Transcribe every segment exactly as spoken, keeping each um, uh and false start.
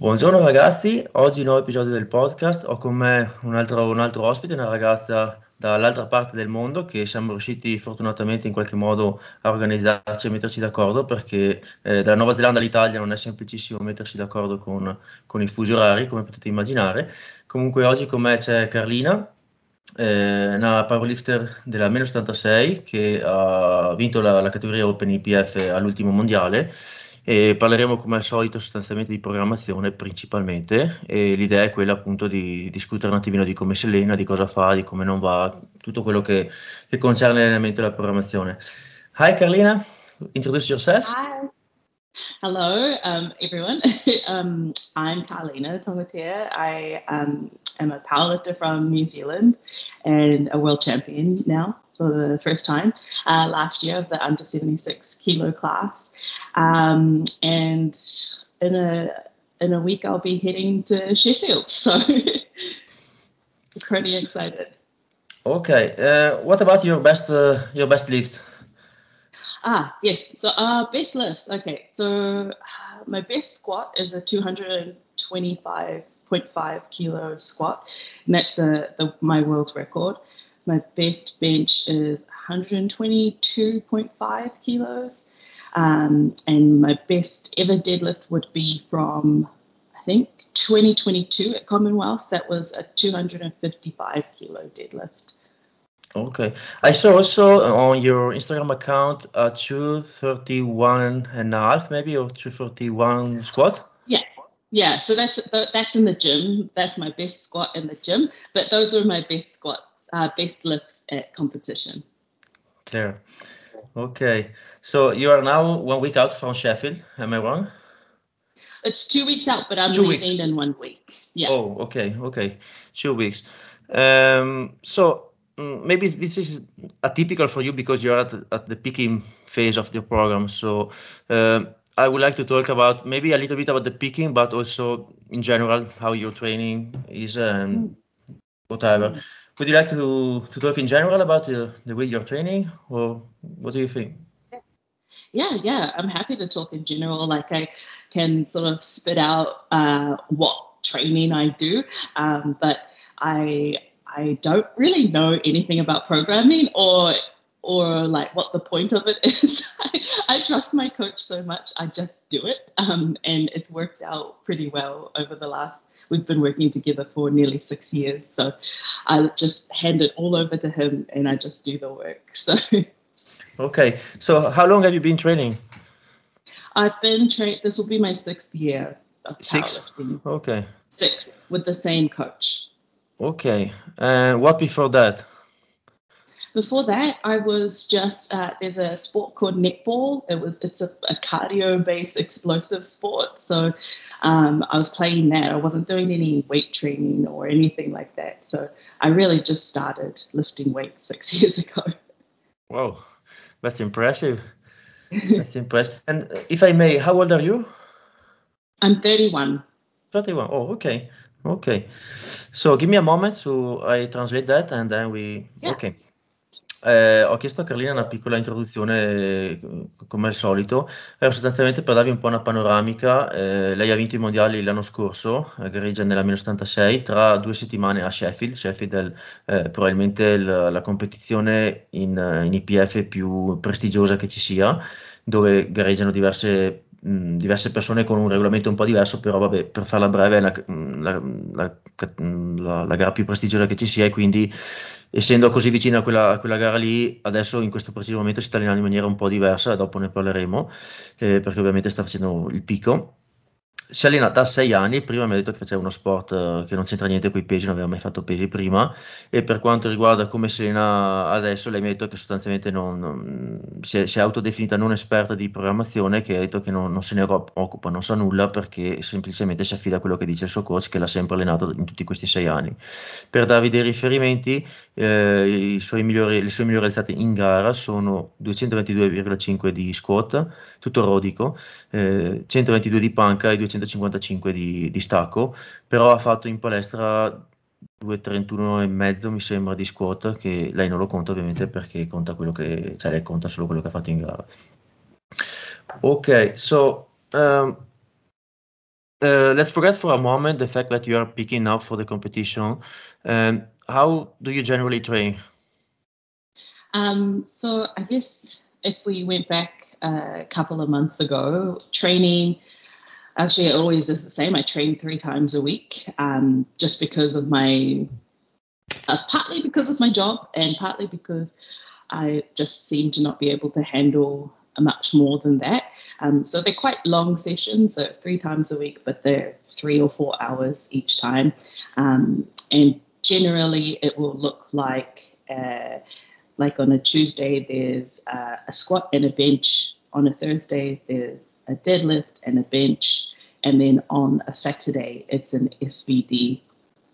Buongiorno ragazzi, oggi nuovo episodio del podcast. Ho con me un altro, un altro ospite, una ragazza dall'altra parte del mondo che siamo riusciti fortunatamente in qualche modo a organizzarci e metterci d'accordo perché eh, dalla Nuova Zelanda all'Italia non è semplicissimo mettersi d'accordo con, con i fusi orari, come potete immaginare. Comunque oggi con me c'è Carlina, eh, una powerlifter della meno settantasei che ha vinto la, la categoria Open I P F all'ultimo mondiale e parleremo come al solito sostanzialmente di programmazione principalmente e l'idea è quella appunto di discutere un attimino di come si allena, di cosa fa, di come non va, tutto quello che, che concerne l'allenamento e la programmazione. Hi Carlina, introduce yourself. Hi. Hello, um, everyone. um, I'm Carlina Tongatea. I um, am a powerlifter from New Zealand and a world champion now for the first time uh, last year of the under seventy-six kilo class. Um, and in a in a week, I'll be heading to Sheffield. So pretty excited. Okay, uh, what about your best uh, your best lift? Ah, yes. So, uh, best lifts. Okay. So, uh, my best squat is a two hundred twenty-five point five kilo squat, and that's a, the, my world record. My best bench is one hundred twenty-two point five kilos. Um, and my best ever deadlift would be from, I think, twenty twenty-two at Commonwealth. That was a two hundred fifty-five kilo deadlift. Okay. I saw also on your Instagram account a two thirty-one and a half maybe or two thirty-one squat. Yeah, yeah. So that's that's in the gym. That's my best squat in the gym. But those are my best squats, uh, best lifts at competition. Clear. Okay. So you are now one week out from Sheffield, am I wrong? It's two weeks out, but I'm Two weeks. leaving in one week. Yeah. Oh, okay, okay. Two weeks. Um, so mm, maybe this is atypical for you because you're at the, at the peaking phase of the program. So um I would like to talk about maybe a little bit about the peaking, but also in general how your training is and Mm, whatever. mm. Would you like to to talk in general about the, the way you're training, or what do you think? Yeah, yeah. I'm happy to talk in general. Like I can sort of spit out uh, what training I do, um, but I I don't really know anything about programming or or like what the point of it is. I, I trust my coach so much. I just do it, um, and it's worked out pretty well over the last. We've been working together for nearly six years, so I just hand it all over to him, and I just do the work. So. Okay. So how long have you been training? I've been trained, this will be my sixth year of Six. powerlifting, Okay. sixth with the same coach. Okay. And what before that? Before that, I was just, uh, there's a sport called netball. It was, it's a, a cardio based explosive sport. So um, I was playing that. I wasn't doing any weight training or anything like that. So I really just started lifting weights six years ago. Wow, that's impressive. That's impressive. And uh, if I may, how old are you? I'm thirty-one. thirty-one. Oh, okay. Okay. So give me a moment to I translate that and then we Yeah. okay. Eh, ho chiesto a Carlina una piccola introduzione, eh, come al solito, era sostanzialmente per darvi un po' una panoramica. Eh, lei ha vinto i mondiali l'anno scorso, a gareggia nella meno settantasei, tra due settimane a Sheffield. Sheffield è il- eh, probabilmente il- la competizione in, eh, in I P F più prestigiosa che ci sia, dove gareggiano diverse, mh, diverse persone con un regolamento un po' diverso, però vabbè, per farla breve è la, la- la- la- la gara più prestigiosa che ci sia e quindi essendo così vicina a quella, a quella gara lì, adesso in questo preciso momento si sta allenando in maniera un po' diversa, dopo ne parleremo, eh, perché ovviamente sta facendo il picco. Si allena da sei anni, prima mi ha detto che faceva uno sport eh, che non c'entra niente con i pesi, non aveva mai fatto pesi prima, e per quanto riguarda come si allena adesso, lei mi ha detto che sostanzialmente non, non- si è, si è autodefinita non esperta di programmazione, che ha detto che non, non se ne ro- occupa, non sa nulla, perché semplicemente si affida a quello che dice il suo coach, che l'ha sempre allenato in tutti questi sei anni. Per darvi dei riferimenti, eh, i suoi migliori- le sue migliori alzate in gara sono duecentoventidue virgola cinque di squat, tutto rodico, eh, centoventidue di panca e duecentocinquantacinque di, di stacco, però ha fatto in palestra duecentotrentuno e mezzo mi sembra di squat, che lei non lo conta ovviamente perché conta quello che, cioè lei conta solo quello che ha fatto in gara. Ok, so um, uh, let's forget for a moment the fact that you are picking up for the competition. Um, how do you generally train? Um, so I guess if we went back a couple of months ago, training actually it always is the same. I train three times a week, um, just because of my uh, partly because of my job and partly because I just seem to not be able to handle much more than that. Um, so they're quite long sessions, so three times a week, but they're three or four hours each time. Um, and generally, it will look like uh, like on a Tuesday, there's uh, a squat and a bench. On a Thursday, there's a deadlift and a bench. And then on a Saturday, it's an S B D.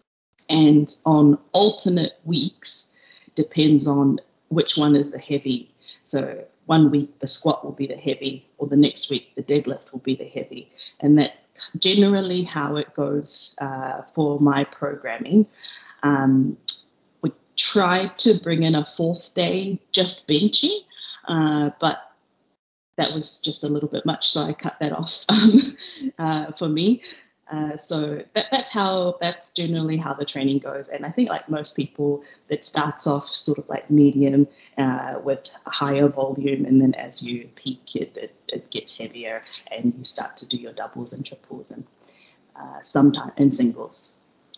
And on alternate weeks, depends on which one is the heavy. So one week the squat will be the heavy, or the next week the deadlift will be the heavy. And that's generally how it goes uh, for my programming. Um, we tried to bring in a fourth day just benching, uh, but that was just a little bit much, so I cut that off um, uh, for me. Uh, so that, that's how that's generally how the training goes, and I think like most people, it starts off sort of like medium uh, with a higher volume, and then as you peak, it, it, it gets heavier, and you start to do your doubles and triples and uh, sometimes and singles.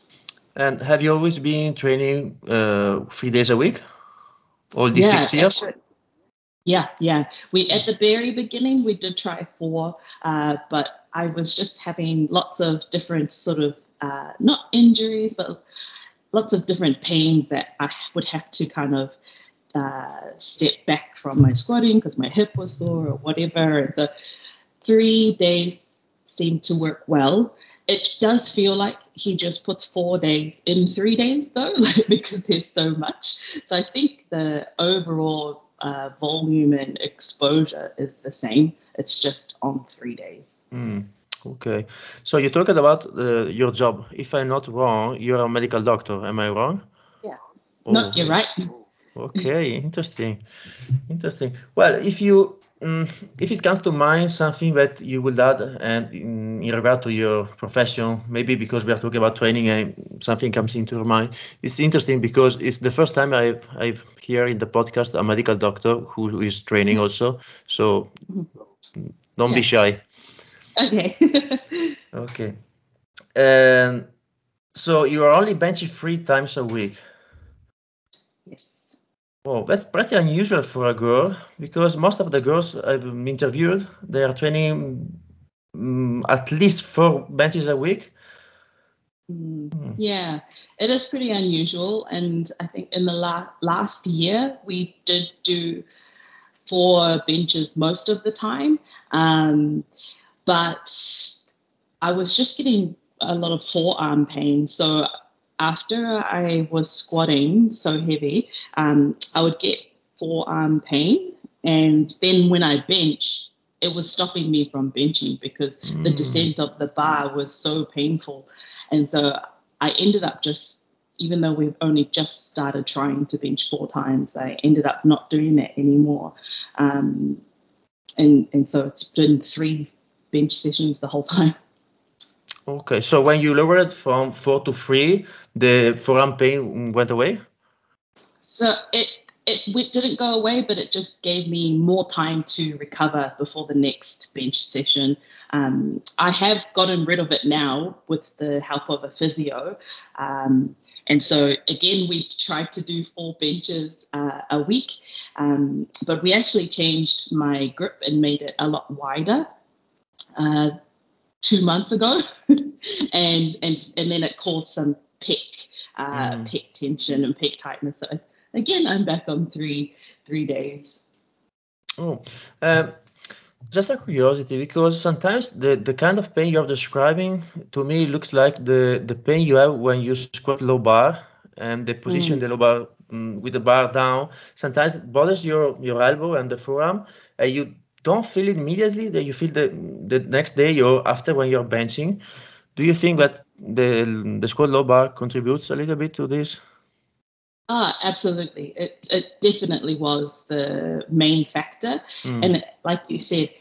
And have you always been training uh, three days a week? All these Yeah, six years? actually, Yeah, yeah. We at the very beginning we did try four, uh, but I was just having lots of different sort of uh, not injuries, but lots of different pains that I would have to kind of uh, step back from my squatting because my hip was sore or whatever. And so three days seemed to work well. It does feel like he just puts four days in three days, though, like, because there's so much. So I think the overall uh, volume and exposure is the same. It's just on three days. Hmm. Okay. So you talked about uh, your job. If I'm not wrong, you're a medical doctor. Am I wrong? Yeah. No, Oh, you're right. okay. Interesting. Interesting. Well, if you mm, if it comes to mind something that you will add, and in, in regard to your profession, maybe because we are talking about training and something comes into your mind, it's interesting because it's the first time I've I've here in the podcast a medical doctor who is training also. So don't be Yeah. shy. Okay. Okay. And so you are only benching three times a week. Yes. Oh, that's pretty unusual for a girl because most of the girls I've interviewed, they are training mm, at least four benches a week. Mm, Hmm. yeah, it is pretty unusual. And I think in the la- last year, we did do four benches most of the time. Um, but I was just getting a lot of forearm pain. So after I was squatting so heavy, um, I would get forearm pain. And then when I bench, it was stopping me from benching because the Hmm. descent of the bar was so painful. And so I ended up just, even though we've only just started trying to bench four times, I ended up not doing that anymore. Um, and and so it's been three bench sessions the whole time. Okay, so when you lowered from four to three, the forearm pain went away? So it it w- didn't go away, but it just gave me more time to recover before the next bench session. Um, I have gotten rid of it now with the help of a physio, um, and so again we tried to do four benches uh, a week, um, but we actually changed my grip and made it a lot wider. Uh, Two months ago, and and and then it caused some pec uh, Hmm. pec tension and pec tightness. So again, I'm back on three three days. Oh, um, just a curiosity, because sometimes the, the kind of pain you're describing to me looks like the, the pain you have when you squat low bar and the position Mm. the low bar mm, with the bar down. Sometimes it bothers your, your elbow and the forearm, and you don't feel it immediately. That you feel the the next day or after when you're benching. Do you think that the the squat low bar contributes a little bit to this? Ah, absolutely. It it definitely was the main factor, Mm. and like you said.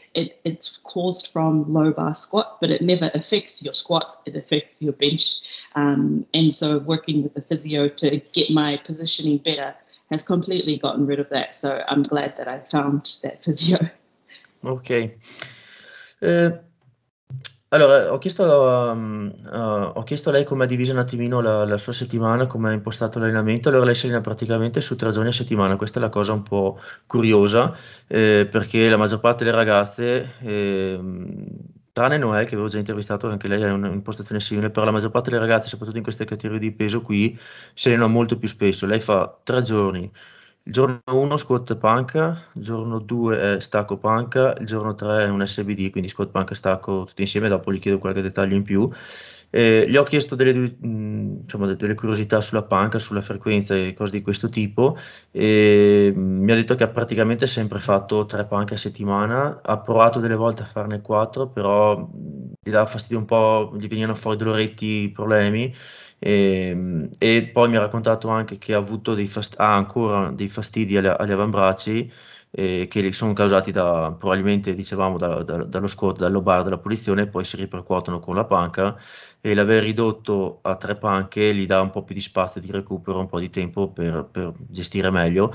it, it's caused from low bar squat, but it never affects your squat, it affects your bench. Um, and so working with the physio to get my positioning better has completely gotten rid of that. So I'm glad that I found that physio. Ok. Eh, allora, ho chiesto, a, mm, a- ho chiesto a lei come ha diviso un attimino la, la sua settimana, come ha impostato l'allenamento. Allora, lei si allena praticamente su tre giorni a settimana. Questa è la cosa un po' curiosa, eh, perché la maggior parte delle ragazze, ehm, tranne Noè, che avevo già intervistato, anche lei ha un'impostazione simile, però la maggior parte delle ragazze, soprattutto in queste categorie di peso qui, si allenano molto più spesso. Lei fa tre giorni. Il giorno uno squat panca, il giorno due è stacco panca, il giorno tre è un S B D, quindi squat panca e stacco tutti insieme, dopo gli chiedo qualche dettaglio in più. Eh, gli ho chiesto delle, mh, insomma, de- delle curiosità sulla panca, sulla frequenza e cose di questo tipo, e mh, mi ha detto che ha praticamente sempre fatto tre panche a settimana, ha provato delle volte a farne quattro, però mh, gli dava fastidio un po', gli venivano fuori doloretti, problemi. E, e poi mi ha raccontato anche che ha avuto dei fast- ha ancora dei fastidi agli, agli avambracci, eh, che li sono causati da, probabilmente, dicevamo, da- da- dallo squat, dal lobar della posizione, e poi si ripercuotono con la panca, e l'aver ridotto a tre panche gli dà un po' più di spazio di recupero, un po' di tempo per, per gestire meglio,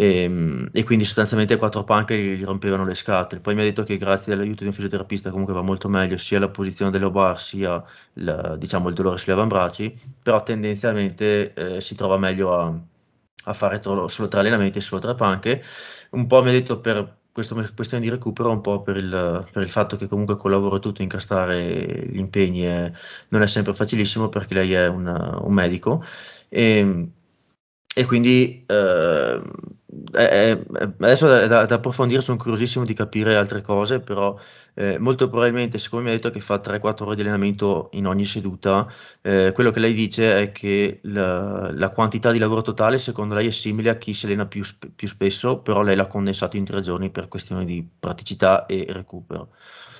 e, e quindi sostanzialmente quattro panche gli, gli rompevano le scatole. Poi mi ha detto che grazie all'aiuto di un fisioterapista comunque va molto meglio sia la posizione del lobar sia il, diciamo, il dolore sugli avambracci, però tendenzialmente eh, si trova meglio a, a fare tro- solo tre allenamenti e solo tre panche. Un po' mi ha detto per questo questione di recupero, un po' per il, per il fatto che comunque col lavoro e tutto incastrare gli impegni è- non è sempre facilissimo, perché lei è un, un medico. E, e quindi eh, è- è- adesso è da, da approfondire, sono curiosissimo di capire altre cose, però eh, molto probabilmente, siccome mi ha detto che fa tre quattro ore di allenamento in ogni seduta, eh, quello che lei dice è che la, la quantità di lavoro totale secondo lei è simile a chi si allena più, sp- più spesso, però lei l'ha condensato in tre giorni per questioni di praticità e recupero.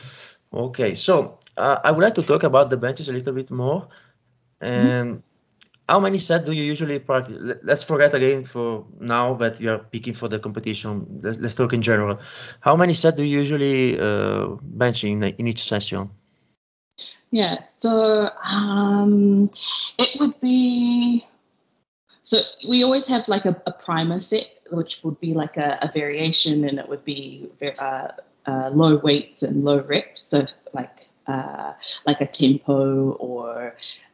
Ok, so uh, I would like to talk about the benches a little bit more. Mhm. Um, how many sets do you usually practice? Let- Let's forget again for now that you are picking for the competition. Let's, let's talk in general. How many sets do you usually uh, bench in, in each session? Yeah, so um, it would be so we always have like a, a primer set, which would be like a, a variation, and it would be uh, uh, low weights and low reps, so like uh, like a tempo or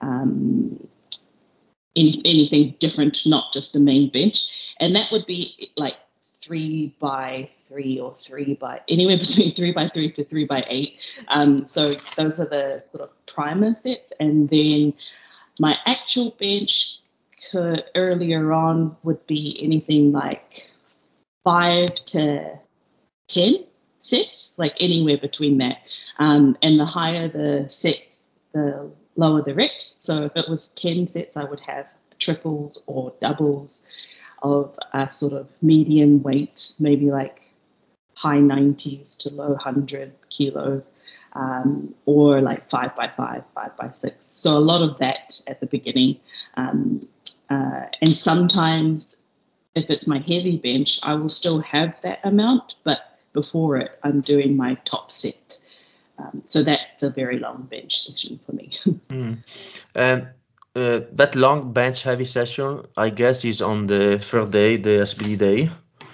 um, any, anything different, not just a main bench, and that would be like three by three or three by anywhere between three by three to three by eight. Um, so those are the sort of primer sets, and then my actual bench could, earlier on would be anything like five to ten sets, like anywhere between that. Um, and the higher the sets, the lower the reps. So if it was ten sets, I would have triples or doubles of a sort of medium weight, maybe like high nineties to low one hundred kilos, um, or like five by five, five by six. So a lot of that at the beginning. Um, uh, and sometimes, if it's my heavy bench, I will still have that amount, but before it, I'm doing my top set. Um, so that's a very long bench session for me. Mm. Um, uh, that long bench heavy session, I guess, is on the third day, the S B D day.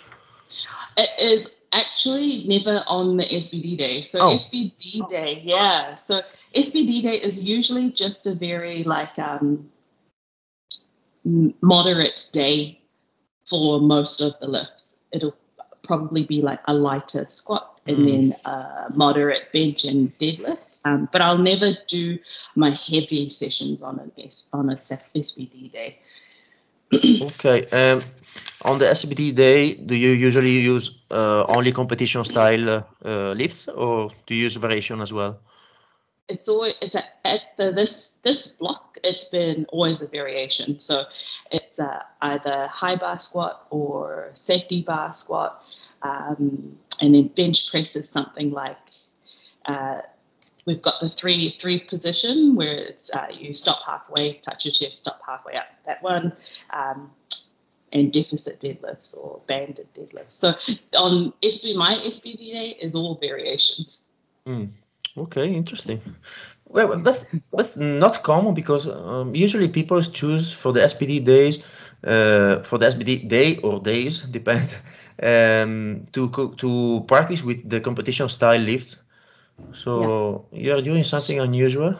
It is actually never on the S B D day. So Oh, S B D day, yeah. So S B D day is usually just a very like um, moderate day for most of the lifts. It'll probably be like a lighter squat and mm. then a moderate bench and deadlift. Um, but I'll never do my heavy sessions on an S on a S B D day. Okay. Um, on the S B D day, do you usually use uh, only competition style uh, lifts, or do you use variation as well? It's always it's a, at the this this block. It's been always a variation. So it's uh, either high bar squat or safety bar squat, um, and then bench press is something like uh, we've got the three three position where it's uh, you stop halfway, touch your chest, stop halfway up. That one. Um, and deficit deadlifts or banded deadlifts. So on S B, my S B D day is all variations. Mm. Okay, interesting. Well, that's that's not common because um, usually people choose for the S P D days, uh, for the S P D day or days depends, um, to co- to practice with the competition style lift. Yeah. So you're doing something unusual.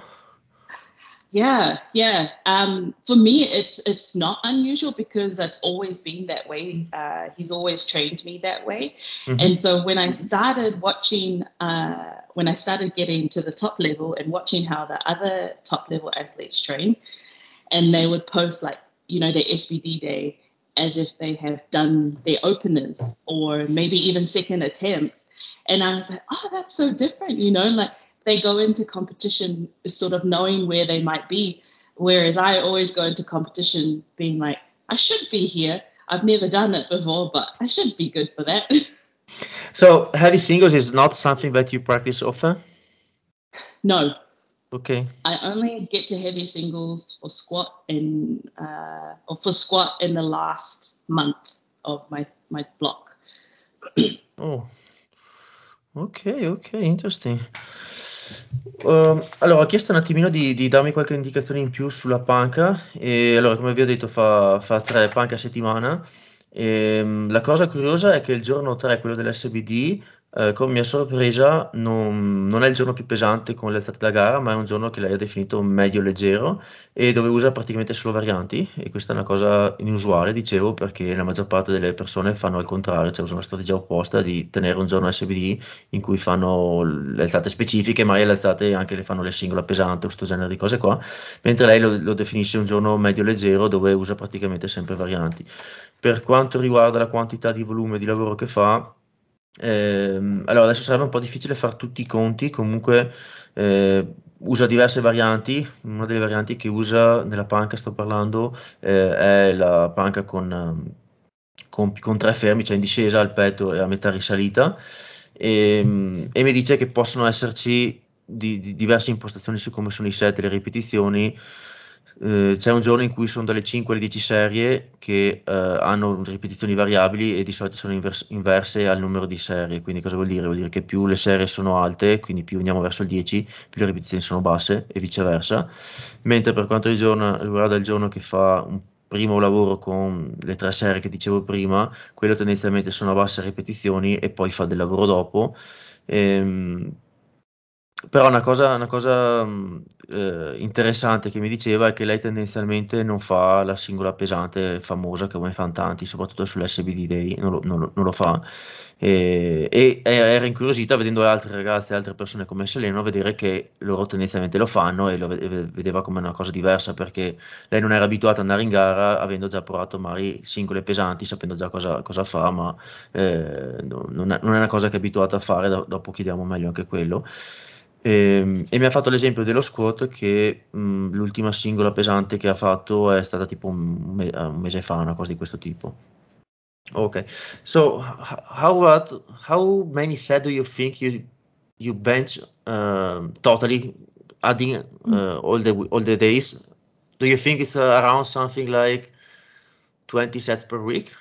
Yeah, yeah. Um, for me, it's it's not unusual because that's always been that way. Uh, he's always trained me that way, Hmm. and so when I started watching, uh, when I started getting to the top level and watching how the other top level athletes train, and they would post like you know their S B D day as if they have done their openers or maybe even second attempts, and I was like, oh, that's so different, you know, like they go into competition sort of knowing where they might be, whereas I always go into competition being like, I should be here. I've never done it before, but I should be good for that. So heavy singles is not something that you practice often. No, Okay. I only get to heavy singles for squat in uh, or for squat in the last month of my my block. Oh, ok, ok, interesting. Ehm, allora, ho chiesto un attimino di, di darmi qualche indicazione in più sulla panca e allora, come vi ho detto, fa, fa tre panche a settimana. Ehm, la cosa curiosa è che il giorno tre, quello dell'S B D, eh, con mia sorpresa, non, non è il giorno più pesante con le alzate da gara, ma è un giorno che lei ha definito medio leggero e dove usa praticamente solo varianti e questa è una cosa inusuale, dicevo, perché la maggior parte delle persone fanno al contrario, cioè usano la strategia opposta di tenere un giorno S B D in cui fanno le alzate specifiche, magari le alzate anche le fanno le singola pesante o questo genere di cose qua, mentre lei lo, lo definisce un giorno medio leggero dove usa praticamente sempre varianti. Per quanto riguarda la quantità di volume di lavoro che fa, ehm, allora adesso sarebbe un po' difficile fare tutti i conti, comunque eh, usa diverse varianti, una delle varianti che usa nella panca, sto parlando, eh, è la panca con, ehm, con, con tre fermi, cioè in discesa al petto e a metà risalita, e, e mi dice che possono esserci di, di diverse impostazioni su come sono i set e le ripetizioni. Eh, c'è un giorno in cui sono dalle cinque alle dieci serie che eh, hanno ripetizioni variabili e di solito sono invers- inverse al numero di serie. Quindi cosa vuol dire? Vuol dire che più le serie sono alte, quindi più andiamo verso il dieci, più le ripetizioni sono basse e viceversa. Mentre per quanto riguarda riguarda il giorno che fa un primo lavoro con le tre serie che dicevo prima, quello tendenzialmente sono a basse ripetizioni e poi fa del lavoro dopo. Ehm, Però una cosa, una cosa mh, eh, interessante che mi diceva è che lei tendenzialmente non fa la singola pesante famosa che come fanno tanti, soprattutto sull'S B D Day, non lo, non lo- non lo fa. E, e era incuriosita vedendo altre ragazze e altre persone come Seleno, vedere che loro tendenzialmente lo fanno e lo ve- vedeva come una cosa diversa perché lei non era abituata ad andare in gara avendo già provato magari singole pesanti, sapendo già cosa, cosa fa, ma eh, no- non è, non è una cosa che è abituata a fare, do- dopo chiediamo meglio anche quello. E, e mi ha fatto l'esempio dello squat che mh, l'ultima singola pesante che ha fatto è stata tipo un, me- un mese fa, una cosa di questo tipo. Okay. So h- how about how many set do you think you you bench um, totally adding uh, all the all the days? Do you think it's uh, around something like twenty sets per week?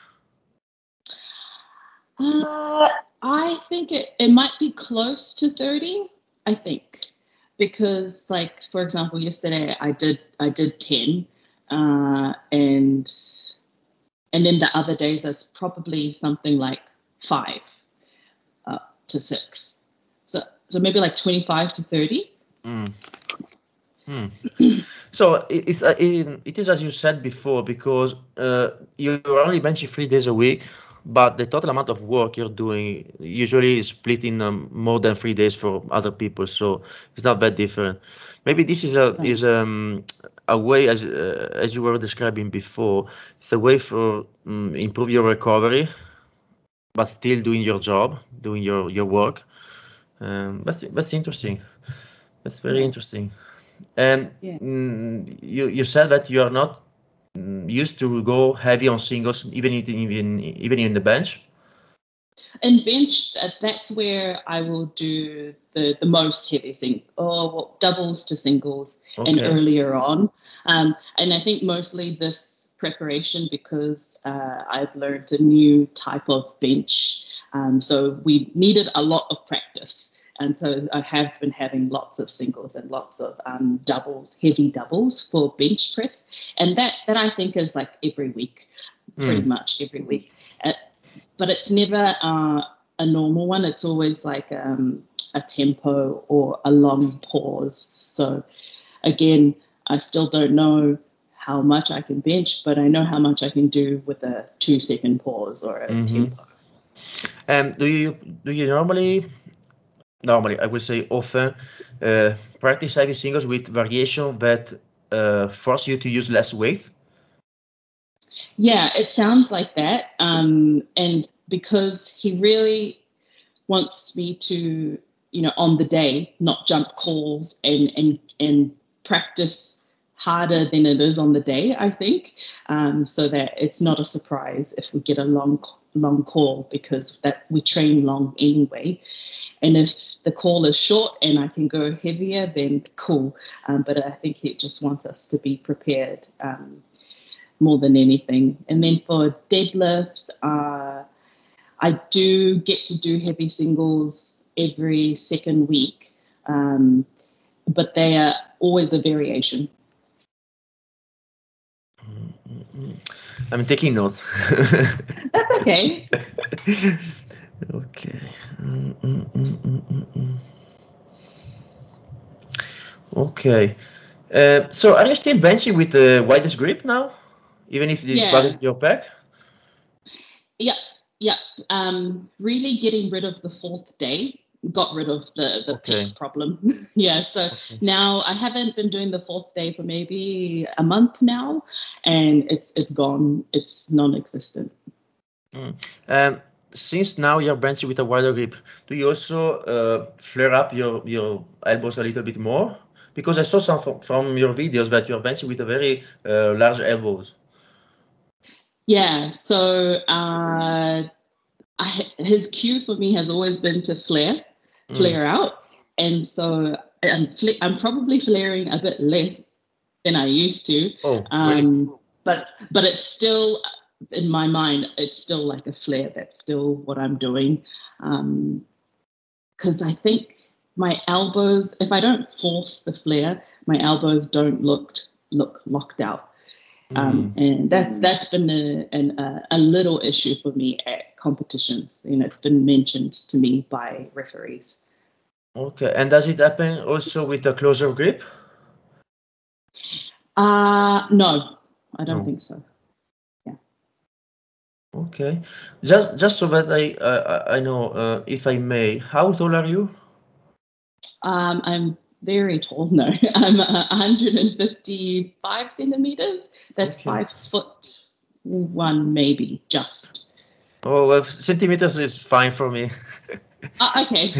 Uh, I think it, it might be close to thirty, I think. Because like for example, yesterday I did I did ten. Uh, and and then the other days it's probably something like five uh, to six. So so maybe like twenty-five to thirty. Mm. Hmm. So i- it's uh, in, it is as you said before because uh, you're only benching three days a week, but the total amount of work you're doing usually is split in um, more than three days for other people. So it's not that different. Maybe this is a Right. is um, a way as uh, as you were describing before. It's a way for um, improve your recovery, but still doing your job, doing your your work. Um, that's that's interesting. That's very Yeah. interesting. And Yeah. mm, you you said that you are not mm, used to go heavy on singles, even in, even even in the bench. And bench, uh, that's where I will do the, the most heavy sing or well, doubles to singles and Okay. earlier on. Um, and I think mostly this preparation because uh, I've learned a new type of bench. Um, so we needed a lot of practice. And so I have been having lots of singles and lots of um, doubles, heavy doubles for bench press. And that, that I think is like every week, pretty Mm. much every week. Uh, but it's never uh, a normal one. It's always like um, a tempo or a long pause. So again, I still don't know how much I can bench, but I know how much I can do with a two second pause or a Mm-hmm. tempo. Um, do you do you normally normally I would say often uh, practice heavy singles with variation that uh, force you to use less weight? Yeah, it sounds like that. Um, and because he really wants me to, you know, on the day, not jump calls and and and practice harder than it is on the day, I think, um, so that it's not a surprise if we get a long long call because that we train long anyway. And if the call is short and I can go heavier, then cool. Um, but I think he just wants us to be prepared. Um, more than anything. And then for deadlifts, uh, I do get to do heavy singles every second week, um, but they are always a variation. I'm taking notes. That's okay. Okay. Mm, mm, mm, mm, mm, mm. Okay. Uh, so are you still benching with the widest grip now? Even if the what is Yes. your pack? Yeah. Yeah. Um, really getting rid of the fourth day got rid of the the Okay. pec problem. Yeah. So Okay. now I haven't been doing the fourth day for maybe a month now, and it's it's gone. It's non-existent. Mm. Um, since now you're benching with a wider grip, do you also uh, flare up your, your elbows a little bit more? Because I saw some from, from your videos that you're benching with a very uh, large elbows. Yeah. So uh, I, his cue for me has always been to flare, Mm. flare out, and so I'm fl- I'm probably flaring a bit less than I used to, Oh, really? um, but but it's still in my mind it's still like a flare. That's still what I'm doing, because um, I think my elbows, if I don't force the flare, my elbows don't look look locked out. Um, Mm. and that's that's been a, an, a, a little issue for me at competitions. You know, it's been mentioned to me by referees. Okay. And does it happen also with a closer grip? Uh no, I don't No. think so. Yeah. Okay. Just just so that I uh, I know, uh, if I may, how tall are you? Um, I'm very tall. No, I'm uh, one hundred fifty-five centimeters. That's Okay. five foot one, maybe just. Oh, well, centimeters is fine for me. Uh, okay.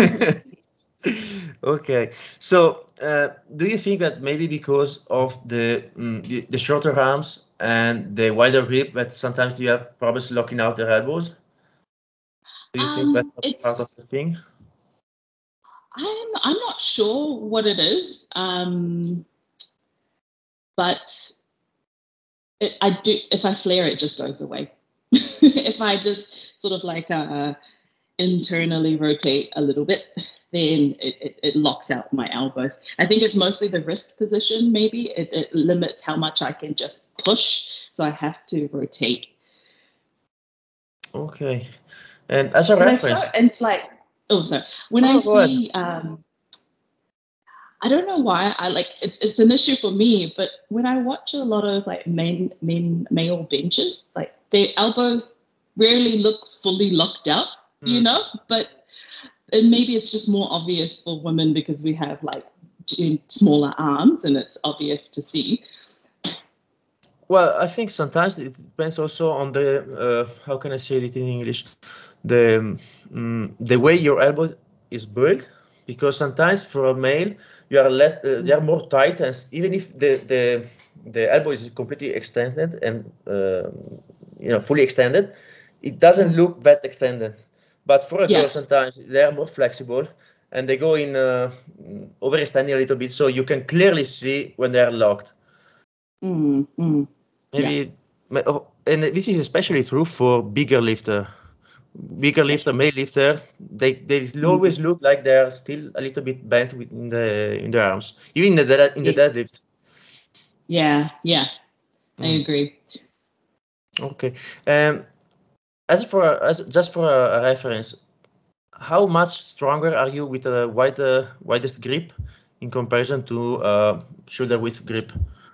Okay. So, uh, do you think that maybe because of the, mm, the the shorter arms and the wider grip, that sometimes you have problems locking out the elbows? Do you think that's um, a part of it's the thing? I'm I'm not sure what it is. Um, but it, I do. If I flare, it just goes away. If I just sort of like uh, internally rotate a little bit, then it, it, it locks out my elbows. I think it's mostly the wrist position. Maybe it, it limits how much I can just push, so I have to rotate. Okay. And as a But I saw, reference, and it's like, oh, sorry. When I oh, go ahead. see um, I don't know why I like it's it's an issue for me, but when I watch a lot of like men men male benches, like their elbows rarely look fully locked out, you Mm. know. But and maybe it's just more obvious for women because we have like smaller arms and it's obvious to see. Well, I think sometimes it depends also on the, uh, how can I say it in English, the um, mm, the way your elbow is built. Because sometimes for a male you are less, uh, they are more tight, and s- even if the the the elbow is completely extended and uh, you know fully extended, it doesn't Mm. look that extended. But for a girl, Yeah. sometimes they are more flexible and they go in uh, mm, overextending a little bit, so you can clearly see when they are locked. Mm, mm. Yeah. Maybe, ma- oh, and this is especially true for bigger lifter. Bigger Yeah. lifter, male lifter, they they Mm. always look like they're still a little bit bent with- in the in the arms, even in the dead- in the Yes. deadlift. Yeah. Yeah. I Mm, agree. okay. Um, as for as just for a, a reference, how much stronger are you with a wide uh, widest grip in comparison to uh, shoulder width grip?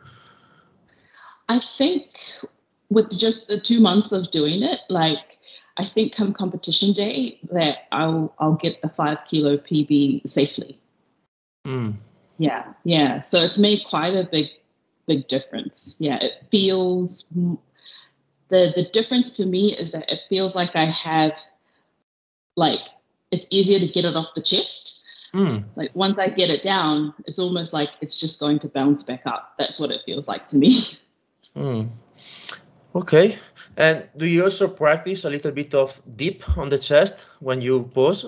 I think with just the two months of doing it, like I think come competition day that I'll I'll get a five kilo P B safely. Mm, Yeah, yeah. So it's made quite a big big difference. Yeah, it feels the the difference to me is that it feels like I have like it's easier to get it off the chest. mm, Like once I get it down, it's almost like it's just going to bounce back up. That's what it feels like to me. mm. Okay. And do you also practice a little bit of dip on the chest when you pose?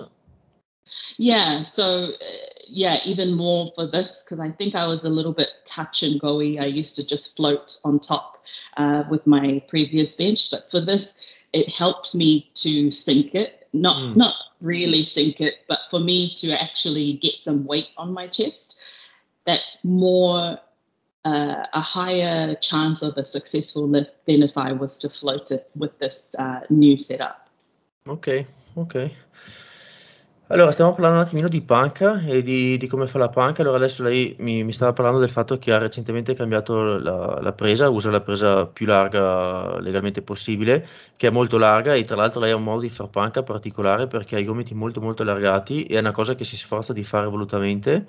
Yeah. So, uh, yeah, even more for this because I think I was a little bit touch and goey. I used to just float on top uh, with my previous bench, but for this, it helps me to sink it. Not Mm, not really sink it, but for me to actually get some weight on my chest. That's more uh, a higher chance of a successful lift than if I was to float it with this uh, new setup. ok, ok. Allora, stiamo parlando un attimino di panca e di, di come fa la panca. Allora, adesso lei mi, mi stava parlando del fatto che ha recentemente cambiato la, la presa, usa la presa più larga legalmente possibile, che è molto larga e tra l'altro lei ha un modo di far panca particolare perché ha i gomiti molto molto allargati e è una cosa che si sforza di fare volutamente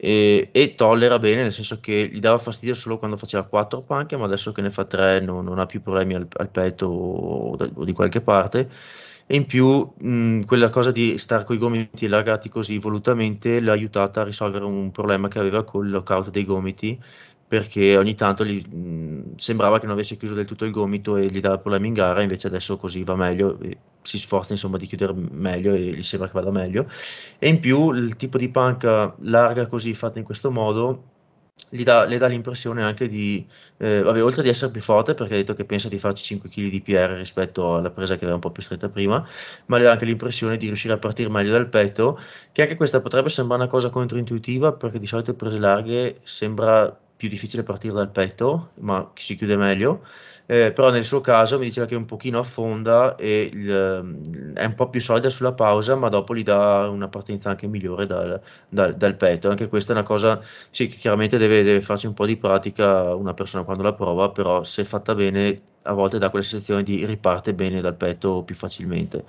e, e tollera bene, nel senso che gli dava fastidio solo quando faceva quattro panche, ma adesso che ne fa tre non, non ha più problemi al, al petto o, da- o di qualche parte. E in più, mh, quella cosa di stare con i gomiti allargati così volutamente l'ha aiutata a risolvere un problema che aveva col lockout dei gomiti, perché ogni tanto gli, mh, sembrava che non avesse chiuso del tutto il gomito e gli dava problemi in gara, invece adesso così va meglio, e si sforza insomma di chiudere meglio e gli sembra che vada meglio. E in più il tipo di panca larga così fatta in questo modo gli dà, le dà l'impressione anche di, eh, vabbè, oltre di essere più forte, perché ha detto che pensa di farci cinque chili di P R rispetto alla presa che aveva un po' più stretta prima, ma le dà anche l'impressione di riuscire a partire meglio dal petto, che anche questa potrebbe sembrare una cosa controintuitiva, perché di solito prese larghe sembra più difficile partire dal petto, ma si chiude meglio. Eh, però nel suo caso mi diceva che un pochino affonda e il, ehm, è un po' più solida sulla pausa, ma dopo gli dà una partenza anche migliore dal, dal- dal petto. Anche questa è una cosa, sì, che chiaramente deve, deve farci un po' di pratica una persona quando la prova, però se fatta bene a volte dà quella sensazione di riparte bene dal petto più facilmente.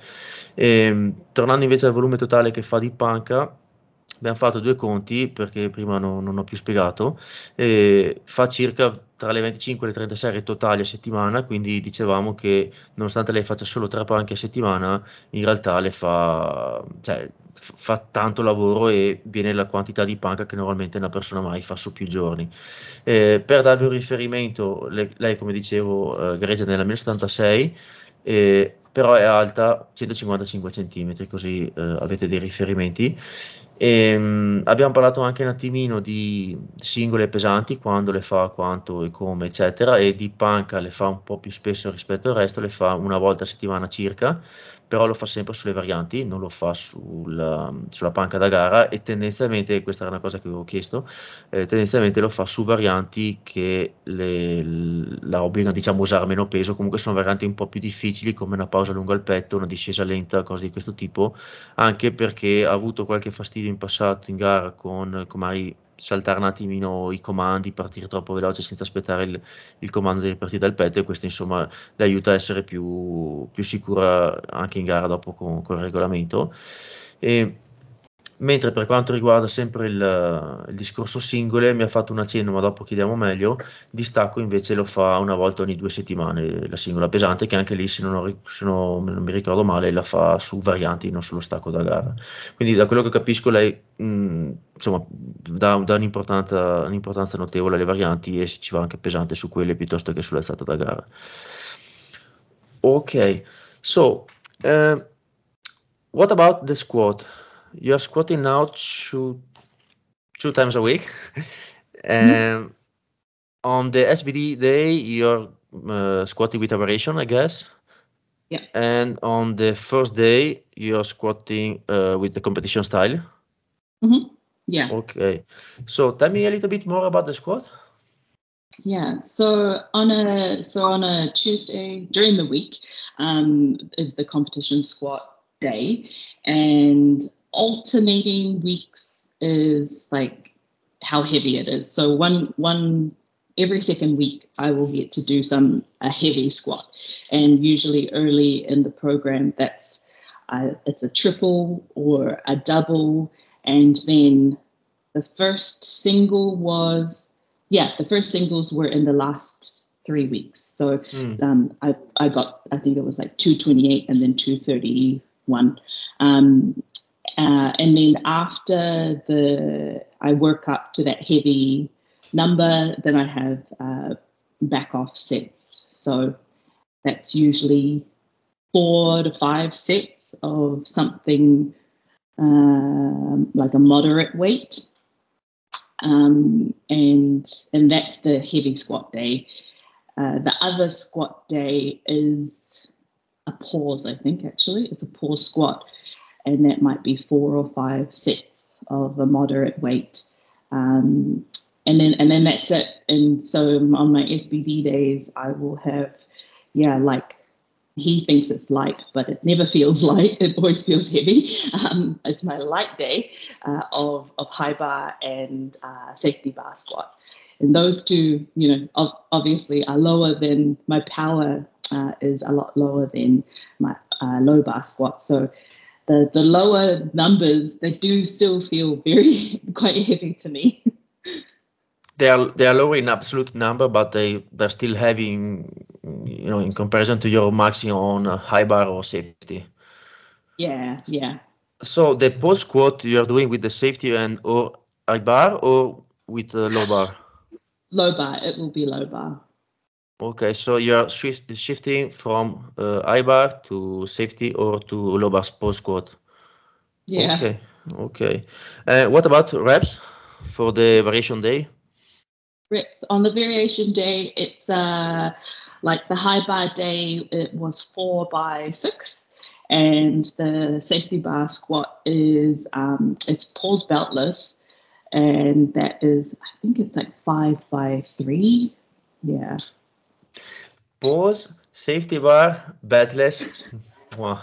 Ehm, tornando invece al volume totale che fa di panca, abbiamo fatto due conti perché prima non, non ho più spiegato, e fa circa tra le venticinque e le trenta serie totali a settimana, quindi dicevamo che nonostante lei faccia solo tre panche a settimana, in realtà le fa, cioè, f- fa tanto lavoro e viene la quantità di panca che normalmente una persona mai fa su più giorni. Eh, per darvi un riferimento, le- lei come dicevo eh, gareggia nella millenocentantasei, eh, però è alta centocinquantacinque centimetri, così eh, avete dei riferimenti. E, abbiamo parlato anche un attimino di singole pesanti, quando le fa, quanto e come, eccetera, e di panca le fa un po' più spesso rispetto al resto, le fa una volta a settimana circa, però lo fa sempre sulle varianti, non lo fa sul- sulla panca da gara e tendenzialmente, questa era una cosa che avevo chiesto, eh, tendenzialmente lo fa su varianti che le- la obbligano diciamo a usare meno peso, comunque sono varianti un po' più difficili come una pausa lungo al petto, una discesa lenta, cose di questo tipo, anche perché ha avuto qualche fastidio in passato in gara con come magari saltare un attimino i comandi, partire troppo veloce senza aspettare il, il comando di ripartire dal petto e questo insomma le aiuta a essere più, più sicura anche in gara dopo con, con il regolamento. E, mentre per quanto riguarda sempre il, il discorso singole, mi ha fatto un accenno, ma dopo chiediamo meglio. Distacco invece lo fa una volta ogni due settimane la singola pesante, che anche lì, se non, ho ri- se non- non mi ricordo male, la fa su varianti, non sullo stacco da gara. Quindi da quello che capisco lei, mh, insomma, dà, dà un'importanza, un'importanza notevole alle varianti e ci va anche pesante su quelle piuttosto che sull'alzata da gara. Ok, so uh, what about the squat? You're squatting now two two times a week. Mhm. Um, on the S B D day, you're uh, squatting with a variation, I guess. Yeah. And on the first day, you're squatting uh, with the competition style. Hmm. Yeah. Okay. So tell me a little bit more about the squat. Yeah. So on a so on a Tuesday during the week um, is the competition squat day, and alternating weeks is like how heavy it is. So one one every second week I will get to do some a heavy squat, and usually early in the program that's uh, it's a triple or a double, and then the first single was, yeah, the first singles were in the last three weeks. So Mm. um, I, I got, I think it was like two twenty-eight and then two thirty-one. Um, uh, and then after the, I work up to that heavy number, then I have uh, back off sets. So that's usually four to five sets of something um, like a moderate weight. Um, and and that's the heavy squat day. Uh, the other squat day is a pause, I think, actually. It's a pause squat, and that might be four or five sets of a moderate weight. Um, and then and then that's it. And so on my S B D days, I will have, yeah, like he thinks it's light, but it never feels light. It always feels heavy. Um, it's my light day uh, of, of high bar and uh, safety bar squat. And those two, you know, ov- obviously are lower than my power uh, is a lot lower than my uh, low bar squat. So the, the lower numbers, they do still feel very quite heavy to me. They are they are lower in absolute number, but they they're still heavy in, you know, in comparison to your maximum on uh, high bar or safety. Yeah, yeah. So the post squat you are doing with the safety and or high bar or with uh, low bar? Low bar, it will be low bar. Okay, so you are shift, shifting from uh, high bar to safety or to low bar post squat. Yeah. Okay, okay. Uh, what about reps for the variation day? Reps on the variation day, it's uh, like the high bar day, it was four by six. And the safety bar squat is um, it's pause beltless, and that is I think it's like five by three. Yeah. Pause, safety bar, bedless. Wow.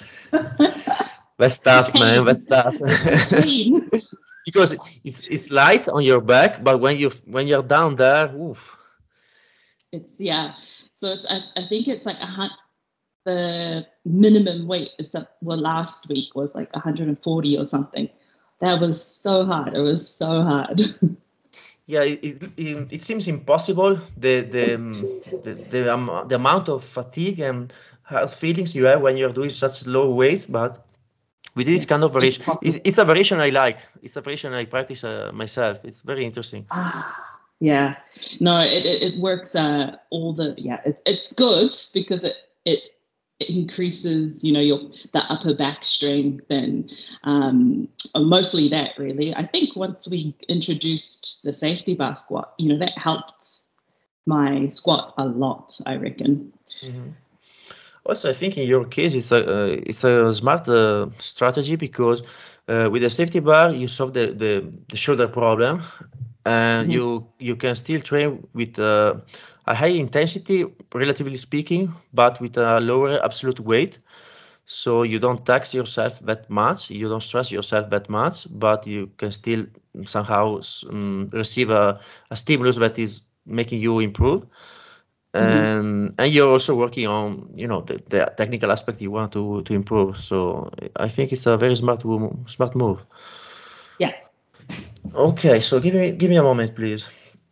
That's tough, man. That's Pain. tough. It's just pain. Because it's it's light on your back, but when you when you're down there, oof. It's yeah. So it's I, I think it's like a hun- the minimum weight is up, well last week was like one hundred forty or something. That was so hard. It was so hard. Yeah, it, it, it, it seems impossible. The the um, the the, um, the amount of fatigue and hard feelings you have when you're doing such low weight, but with this Yeah, kind of it's variation, it's, possible. it's a variation I like. It's a variation I practice uh, myself. It's very interesting. Ah, yeah. No, it, it, it works. Uh, all the yeah, it, it's good because it it it increases, you know, your the upper back strength and um, mostly that really. I think once we introduced the safety bar squat, you know, that helped my squat a lot. I reckon. Mhm. Also, I think in your case, it's a uh, it's a smart uh, strategy because uh, with the safety bar, you solve the, the, the shoulder problem, and Mhm. you you can still train with uh, a high intensity, relatively speaking, but with a lower absolute weight. So you don't tax yourself that much, you don't stress yourself that much, but you can still somehow um, receive a, a stimulus that is making you improve, Mhm. and and you're also working on, you know, the, the technical aspect you want to to improve. So I think it's a very smart wo- smart move. Yeah. Ok, so give me, give me a moment, please.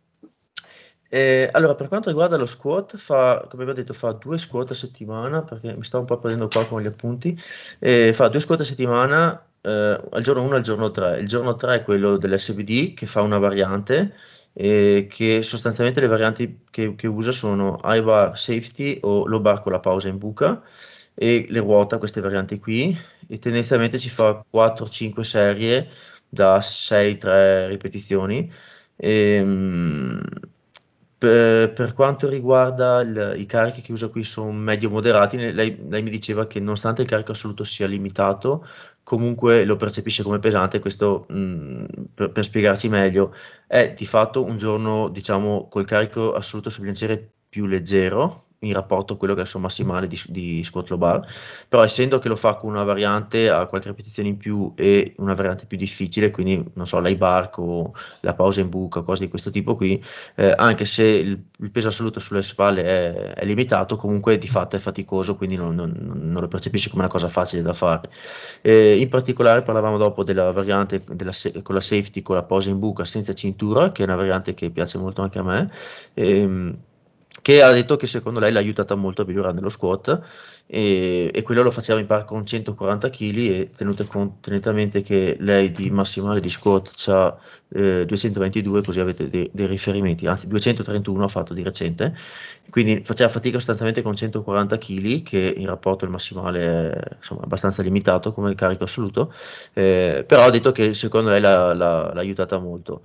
Eh, allora, per quanto riguarda lo squat, fa, come vi ho detto, fa due squat a settimana, perché mi sto un po' prendendo qua con gli appunti. Eh, fa due squat a settimana, eh, al giorno uno e al giorno tre. Il giorno tre è quello dell'S V D, che fa una variante, eh, che sostanzialmente le varianti che, che usa sono high bar safety o low bar con la pausa in buca, e le ruota queste varianti qui, e tendenzialmente ci fa quattro cinque serie da sei tre ripetizioni. Ehm, Per, per quanto riguarda il- i carichi che usa qui sono medio-moderati, ne- lei, lei mi diceva che nonostante il carico assoluto sia limitato, comunque lo percepisce come pesante. Questo, mh, per, per spiegarci meglio, è di fatto un giorno, diciamo, col carico assoluto sul bilanciere più leggero in rapporto a quello che è il suo massimale di, di squat low bar, però essendo che lo fa con una variante a qualche ripetizione in più e una variante più difficile, quindi non so, l'high bar o la pausa in buca, cose di questo tipo qui, eh, anche se il, il peso assoluto sulle spalle è, è limitato, comunque di fatto è faticoso, quindi non, non- non lo percepisci come una cosa facile da fare. Eh, in particolare parlavamo dopo della variante della se- con la safety, con la posa in buca senza cintura, che è una variante che piace molto anche a me. ehm, che ha detto che secondo lei l'ha aiutata molto a migliorare nello squat e, e quello lo faceva in par con centoquaranta chili e tenute, con- tenete a mente che lei di massimale di squat c'ha eh, duecentoventidue, così avete dei, dei riferimenti, anzi duecentotrentuno ha fatto di recente, quindi faceva fatica sostanzialmente con centoquaranta chili, che in rapporto al massimale è insomma, abbastanza limitato come carico assoluto, eh, però ha detto che secondo lei l'ha l'ha- l'ha aiutata molto.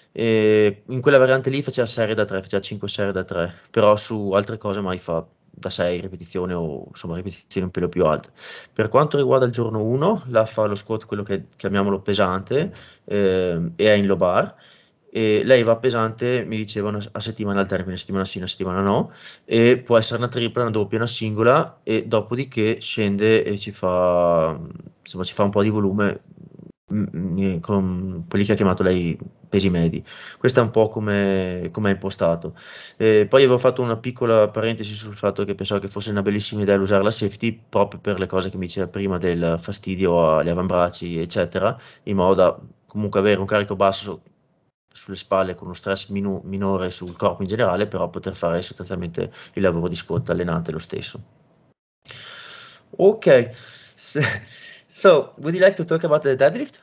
E in quella variante lì faceva serie da tre, faceva cinque serie da tre, però su altre cose mai fa da sei ripetizioni o insomma ripetizioni un pelo più alte. Per quanto riguarda il giorno uno, là fa lo squat, quello che chiamiamolo pesante, ehm, e è in low bar. E lei va pesante, mi dicevano, a settimana al termine, settimana sì, una settimana no, e può essere una tripla, una doppia, una singola, e dopodiché scende e ci fa, insomma, ci fa un po' di volume mm, mm, con quelli che ha chiamato lei pesi medi. Questo è un po' come come è impostato. Eh, poi avevo fatto una piccola parentesi sul fatto che pensavo che fosse una bellissima idea usare la safety proprio per le cose che mi diceva prima del fastidio agli avambracci, eccetera, in modo da comunque avere un carico basso sulle spalle con uno stress minu- minore sul corpo in generale, però poter fare sostanzialmente il lavoro di squat allenante lo stesso. Ok, so, so would you like to talk about the deadlift?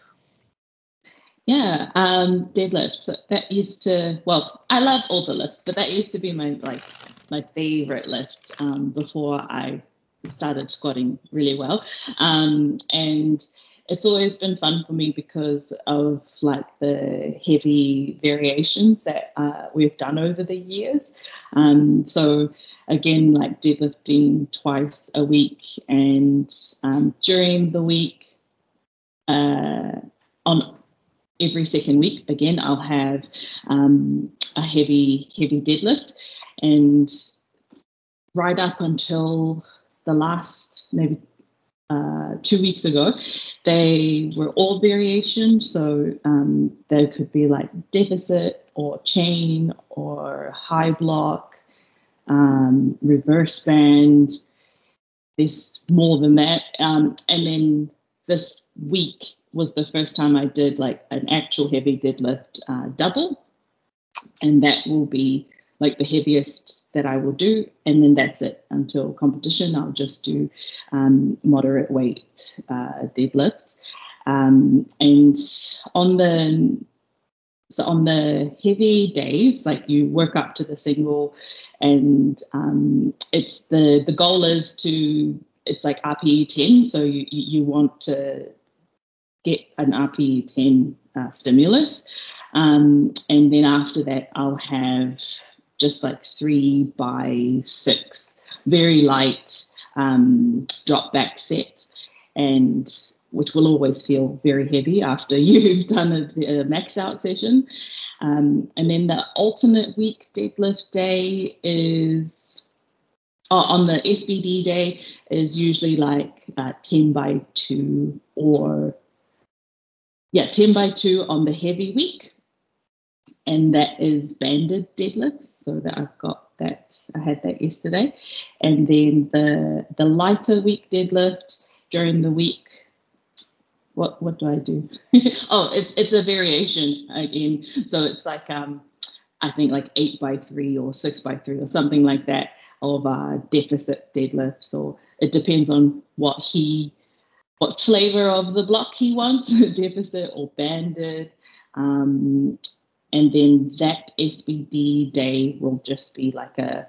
Yeah, um, deadlift. So that used to, well, I love all the lifts, but that used to be my like my favorite lift um, before I started squatting really well. Um, and it's always been fun for me because of like the heavy variations that uh, we've done over the years. Um, so again, like deadlifting twice a week, and um, during the week, uh, on every second week, again, I'll have um, a heavy, heavy deadlift. And right up until the last maybe uh, two weeks ago, they were all variations. So um, they could be like deficit or chain or high block, um, reverse band. There's more than that. Um, and then this week was the first time I did like an actual heavy deadlift uh, double, and that will be like the heaviest that I will do, and then that's it until competition. I'll just do um, moderate weight uh, deadlifts, um, and on the so on the heavy days, like you work up to the single, and um, it's the the goal is to it's like R P E ten, so you you want to get an R P E ten uh, stimulus. Um, and then after that, I'll have just like three by six, very light um, drop back sets, and which will always feel very heavy after you've done a, a max out session. Um, and then the alternate week deadlift day is oh, on the S B D day is usually like uh, ten by two or yeah, ten by two on the heavy week. And that is banded deadlifts. So that I've got that, I had that yesterday. And then the the lighter week deadlift during the week. What what do I do? Oh, it's it's a variation again. So it's like um I think like eight by three or six by three or something like that of uh, deficit deadlifts, or it depends on what he what flavor of the block he wants, deficit or banded. Um, and then that S B D day will just be like a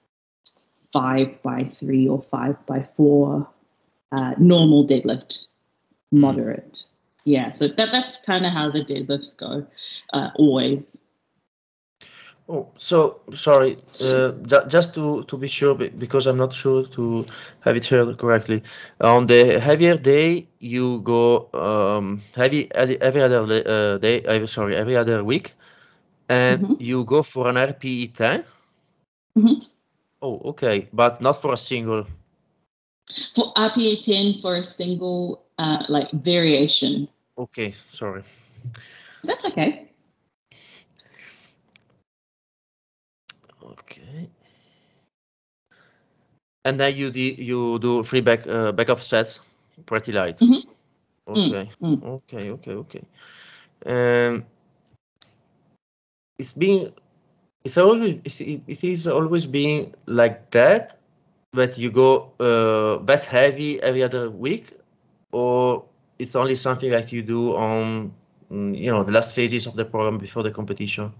five by three or five by four uh, normal deadlift, Mm. moderate. Yeah, so that, that's kind of how the deadlifts go, uh, always. Oh, so sorry. Uh, ju- just to to be sure, be- because I'm not sure to have it heard correctly. On the heavier day, you go um, heavy every every other le- uh, day. Uh, sorry, every other week, and Hmm. you go for an R P E ten. Hmm. Oh, okay, but not for a single. For R P A ten for a single uh, like variation. Okay, sorry. That's okay. Okay, and then you do you do three back uh, back off sets, pretty light. Hmm. Mm, Okay, mm. okay, okay, okay. Um, it's been it's always it's, it it is always being like that that you go uh, that heavy every other week, or it's only something that you do on mm, you know the last phases of the program before the competition.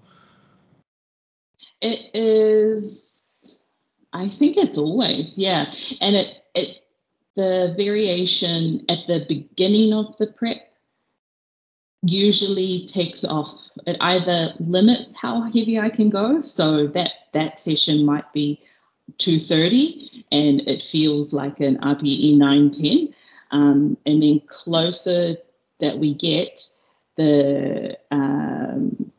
It is, I think it's always, yeah. And it, it, the variation at the beginning of the prep usually takes off. It either limits how heavy I can go. So that, that session might be two thirty and it feels like an R P E nine ten. Um, and then closer that we get, the um,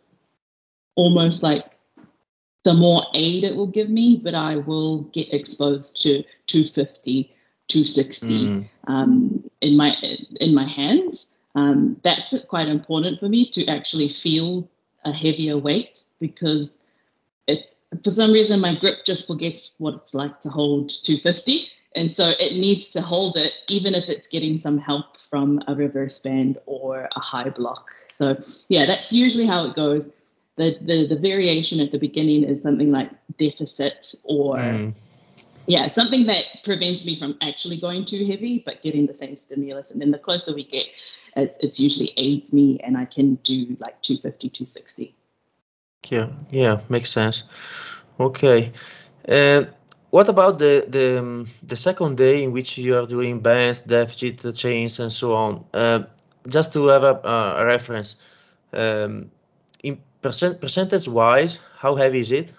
almost like the more aid it will give me, but I will get exposed to two fifty, two sixty Mm, um, in my in my hands. Um, that's quite important for me to actually feel a heavier weight because if for some reason my grip just forgets what it's like to hold two fifty. And so it needs to hold it, even if it's getting some help from a reverse band or a high block. So, yeah, that's usually how it goes. The, the, the variation at the beginning is something like deficit or, mm. yeah, something that prevents me from actually going too heavy, but getting the same stimulus. And then the closer we get, it, it's usually aids me and I can do like two fifty, two sixty. Yeah, yeah, makes sense. Okay. And what about the the um, the second day in which you are doing bands, deficit, uh, chains, and so on? Uh, just to have a, uh, a reference, um, in percent percentage wise, how heavy is it?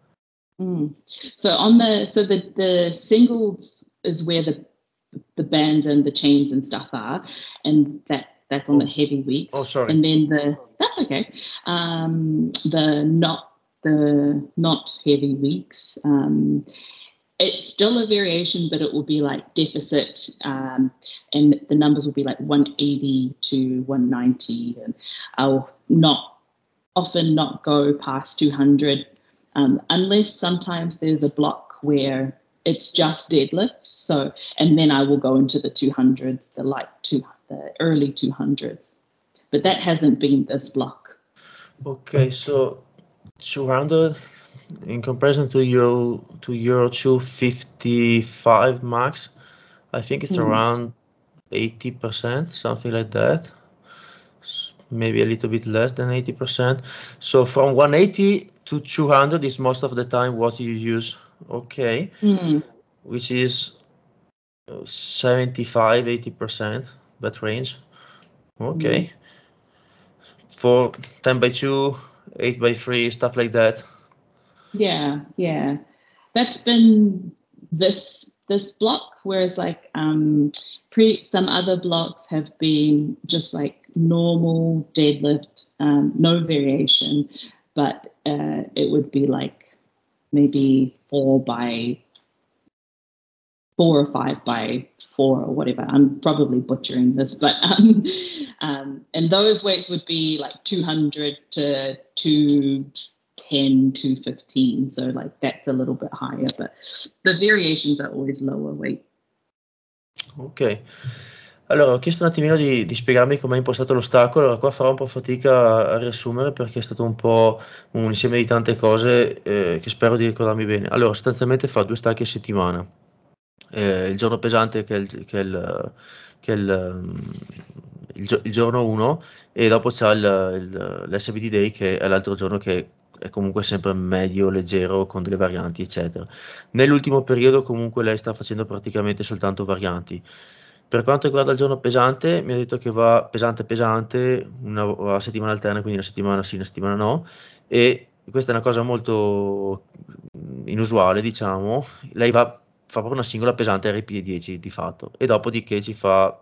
Mm. So on the so the the singles is where the the bands and the chains and stuff are, and that that's on the Oh, heavy oh, weeks, sorry. and then the that's okay. Um, the not the not heavy weeks. Um, it's still a variation, but it will be like deficit, um, and the numbers will be like one eighty to one ninety, and I'll not often not go past two hundred um, unless sometimes there's a block where it's just deadlifts. So, and then I will go into the two hundreds, the light two, the early two hundreds. But that hasn't been this block. Okay, so two hundred in comparison to your to your two fifty-five max, I think it's Mm. around eighty percent, something like that. S- Maybe a little bit less than eighty percent. So from one eighty to two hundred is most of the time what you use. Okay, Mm. which is uh, seventy-five, eighty percent, that range. Mm. Okay. For ten by two, eight by three, stuff like that. Yeah, yeah. That's been this this block, whereas like um pre some other blocks have been just like normal deadlift, um, no variation, but uh, it would be like maybe four by four or five by four or whatever. I'm probably butchering this, but um, um, and those weights would be like two hundred to two ten, two fifteen. So like that's a little bit higher, but the variations are always lower weight. Ok. Allora, ho chiesto un attimino di, di spiegarmi come è impostato l'ostacolo, allora qua farò un po' fatica a, a riassumere perché è stato un po' un insieme di tante cose eh, che spero di ricordarmi bene. Allora, sostanzialmente fa due stacchi a settimana. Eh, il giorno pesante che è il, che è il, che è il, um, il gio- il giorno uno e dopo c'è il, il- l'S B D Day che è l'altro giorno che è comunque sempre medio, leggero, con delle varianti, eccetera. Nell'ultimo periodo comunque lei sta facendo praticamente soltanto varianti. Per quanto riguarda il giorno pesante, mi ha detto che va pesante pesante, una, a settimana alterna, quindi una settimana sì, una settimana no, e questa è una cosa molto inusuale, diciamo, lei va, fa proprio una singola pesante R P E dieci di fatto, e dopodiché ci fa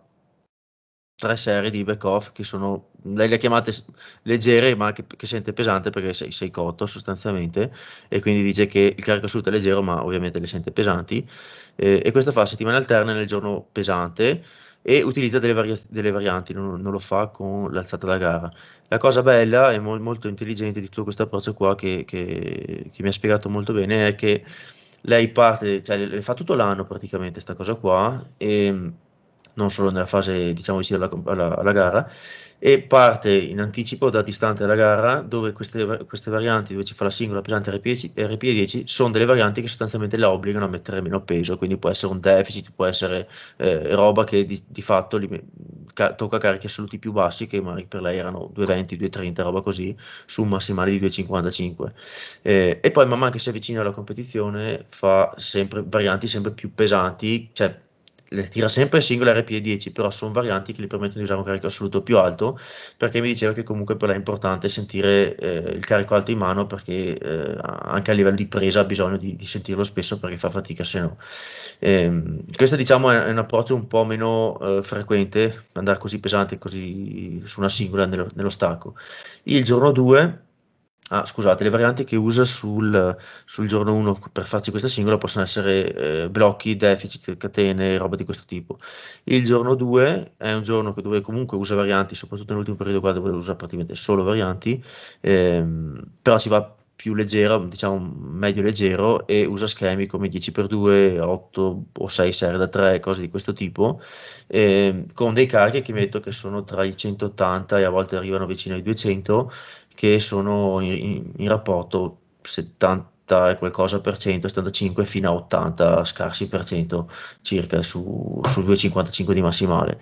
tre serie di back off che sono, lei le ha chiamate s- leggere, ma che, che sente pesante perché sei, sei cotto sostanzialmente, e quindi dice che il carico assoluto è leggero, ma ovviamente le sente pesanti. Eh, e questo fa settimane alterne nel giorno pesante e utilizza delle, varia- delle varianti, non, non lo fa con l'alzata da gara. La cosa bella e mol- molto intelligente di tutto questo approccio qua, che, che- che mi ha spiegato molto bene, è che lei parte, cioè le fa tutto l'anno praticamente sta cosa qua, e non solo nella fase, diciamo, vicino alla, alla- alla gara, e parte in anticipo da distante dalla gara, dove queste, queste varianti, dove ci fa la singola pesante R P E dieci, R P E dieci, sono delle varianti che sostanzialmente la obbligano a mettere meno peso, quindi può essere un deficit, può essere eh, roba che di, di fatto li- ca- tocca carichi assoluti più bassi, che magari per lei erano duecentoventi, duecentotrenta, roba così, su un massimale di duecentocinquantacinque. Eh, e poi man mano che si avvicina alla competizione fa sempre varianti sempre più pesanti, cioè le tira sempre singole R P E dieci, però sono varianti che gli permettono di usare un carico assoluto più alto, perché mi diceva che comunque per lei è importante sentire eh, il carico alto in mano, perché eh, anche a livello di presa ha bisogno di, di sentirlo spesso, perché fa fatica se no. Ehm, questo diciamo è, è un approccio un po' meno eh, frequente, andare così pesante così su una singola nello, nello stacco. Il giorno due, ah, scusate, le varianti che usa sul, sul giorno uno per farci questa singola possono essere eh, blocchi, deficit, catene, roba di questo tipo. Il giorno due è un giorno che- dove comunque usa varianti, soprattutto nell'ultimo periodo qua dove usa praticamente solo varianti, ehm, però ci va più leggera, diciamo medio leggero, e usa schemi come dieci per due, otto o sei serie da tre, cose di questo tipo, ehm, con dei carichi che metto che sono tra i centottanta e a volte arrivano vicino ai duecento, che sono in, in- in rapporto settanta e qualcosa per cento, settantacinque fino a ottanta scarsi per cento circa su, su duecentocinquantacinque di massimale.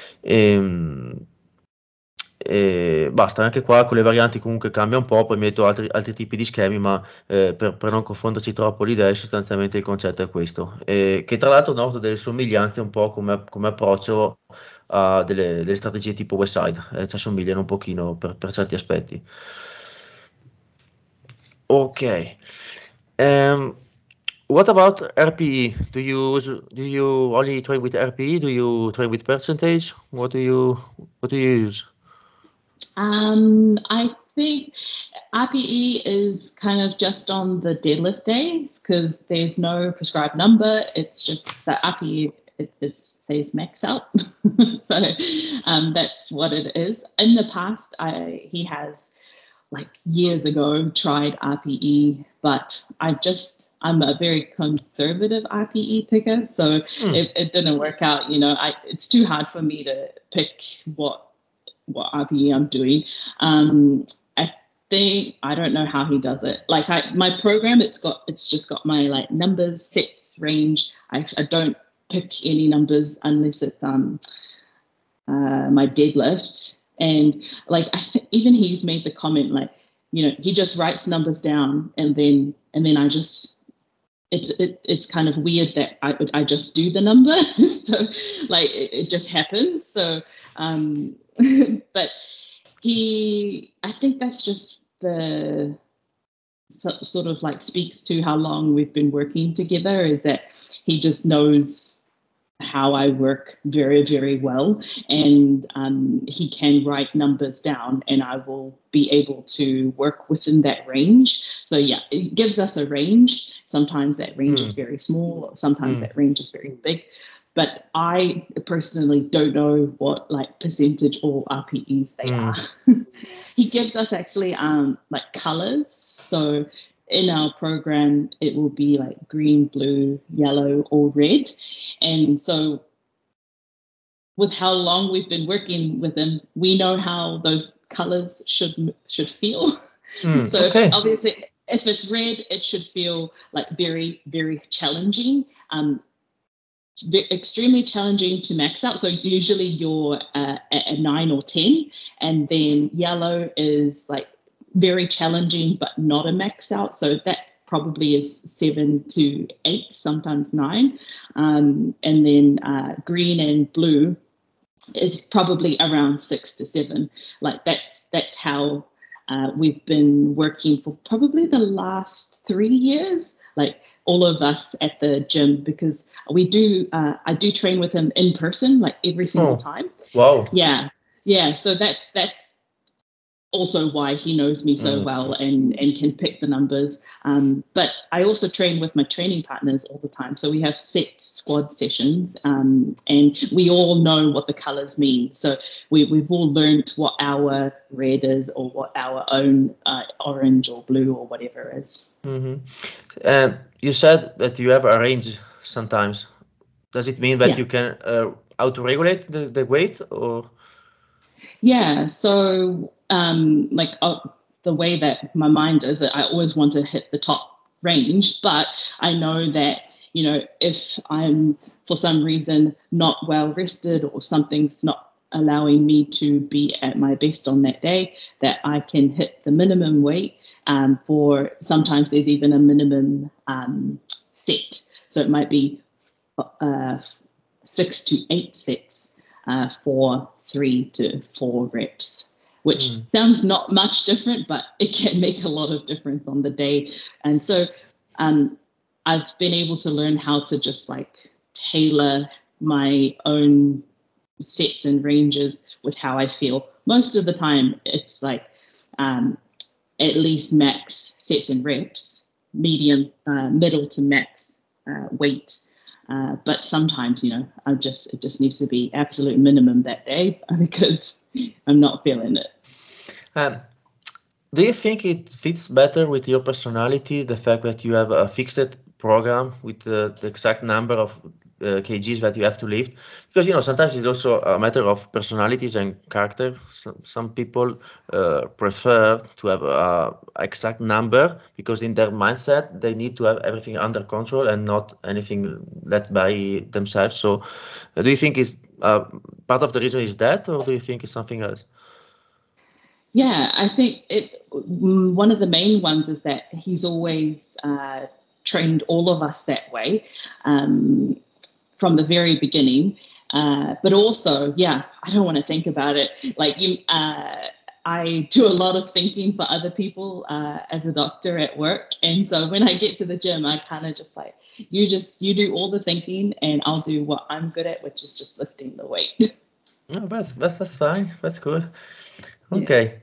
Ehm, E, basta, anche qua con le varianti comunque cambia un po', poi metto altri, altri tipi di schemi, ma eh, per, per non confonderci troppo le idee, sostanzialmente il concetto è questo. E che tra l'altro noto delle somiglianze un po' come, come approccio a delle, delle strategie tipo Westside, eh, ci assomigliano un pochino per, per certi aspetti. Ok. Um, what about R P E? Do you use- do you only train with R P E? Do you train with percentage? What do you what do you use? Um, I think R P E is kind of just on the deadlift days because there's no prescribed number. It's just the R P E, it, it says max out. So um, that's what it is. In the past, I he has like years ago tried R P E, but I just I'm a very conservative R P E picker, so Hmm. it, it didn't work out. You know, I it's too hard for me to pick what what R P E I'm doing. Um, I think I don't know how he does it. Like I my program, it's got it's just got my like numbers, sets, range. I, I don't pick any numbers unless it's um uh, my deadlift. And like I th- even he's made the comment like, you know, he just writes numbers down and then and then I just it, it it's kind of weird that I I just do the number. So like it, it just happens. So um but he I think that's just the so, sort of like speaks to how long we've been working together is that he just knows how I work very, very well. And um, he can write numbers down, and I will be able to work within that range. So, yeah, it gives us a range. Sometimes that range is Hmm. very small, sometimes Hmm. that range is very big. But I personally don't know what like percentage or R P Es they Hmm. are. He gives us actually um, like colors. So in our program, it will be like green, blue, yellow, or red. And so, with how long we've been working with him, we know how those colors should should feel. Hmm. So, Ok. obviously, if it's red, it should feel like very, very challenging. Um, extremely challenging to max out. So usually you're uh, at a nine or ten, and then yellow is like very challenging but not a max out. So that probably is seven to eight, sometimes nine, um, and then uh, green and blue is probably around six to seven. Like that's that's how. Uh, we've been working for probably the last three years, like all of us at the gym, because we do, uh, I do train with him in person, like every single Oh, time. wow. Yeah. Yeah. So that's, that's, also why he knows me so Mm. well and and can pick the numbers. Um, but I also train with my training partners all the time. So we have set squad sessions, um, and we all know what the colors mean. So we, we've all learned what our red is or what our own uh, orange or blue or whatever is. Hmm. And you said that you have a range sometimes. Does it mean that Yeah. you can uh, auto-regulate the, the weight or? Yeah. So, um, like uh, the way that my mind is, I always want to hit the top range, but I know that, you know, if I'm for some reason not well rested or something's not allowing me to be at my best on that day, that I can hit the minimum weight. Um, for sometimes there's even a minimum um, set. So it might be uh, six to eight sets uh, for three to four reps, which Mm. sounds not much different, but it can make a lot of difference on the day. And so um, I've been able to learn how to just like tailor my own sets and ranges with how I feel. Most of the time, it's like um, at least max sets and reps, medium, uh, middle to max uh, weight. Uh, but sometimes, you know, I just it just needs to be absolute minimum that day because I'm not feeling it. Um, do you think it fits better with your personality, the fact that you have a fixed program with the, the exact number of uh, kgs that you have to lift? Because, you know, sometimes it's also a matter of personalities and character. Some, some people uh, prefer to have a exact number because in their mindset, they need to have everything under control and not anything led by themselves. So uh, do you think is uh, part of the reason is that, or do you think it's something else? Yeah, I think it. mm, One of the main ones is that he's always uh, trained all of us that way. Um, from the very beginning. Uh, but also, yeah, I don't want to think about it. Like you, uh, I do a lot of thinking for other people uh, as a doctor at work, and so when I get to the gym, I kind of just like you just you do all the thinking, and I'll do what I'm good at, which is just lifting the weight. No, that's, that's, that's fine. That's good. Yeah. Ok.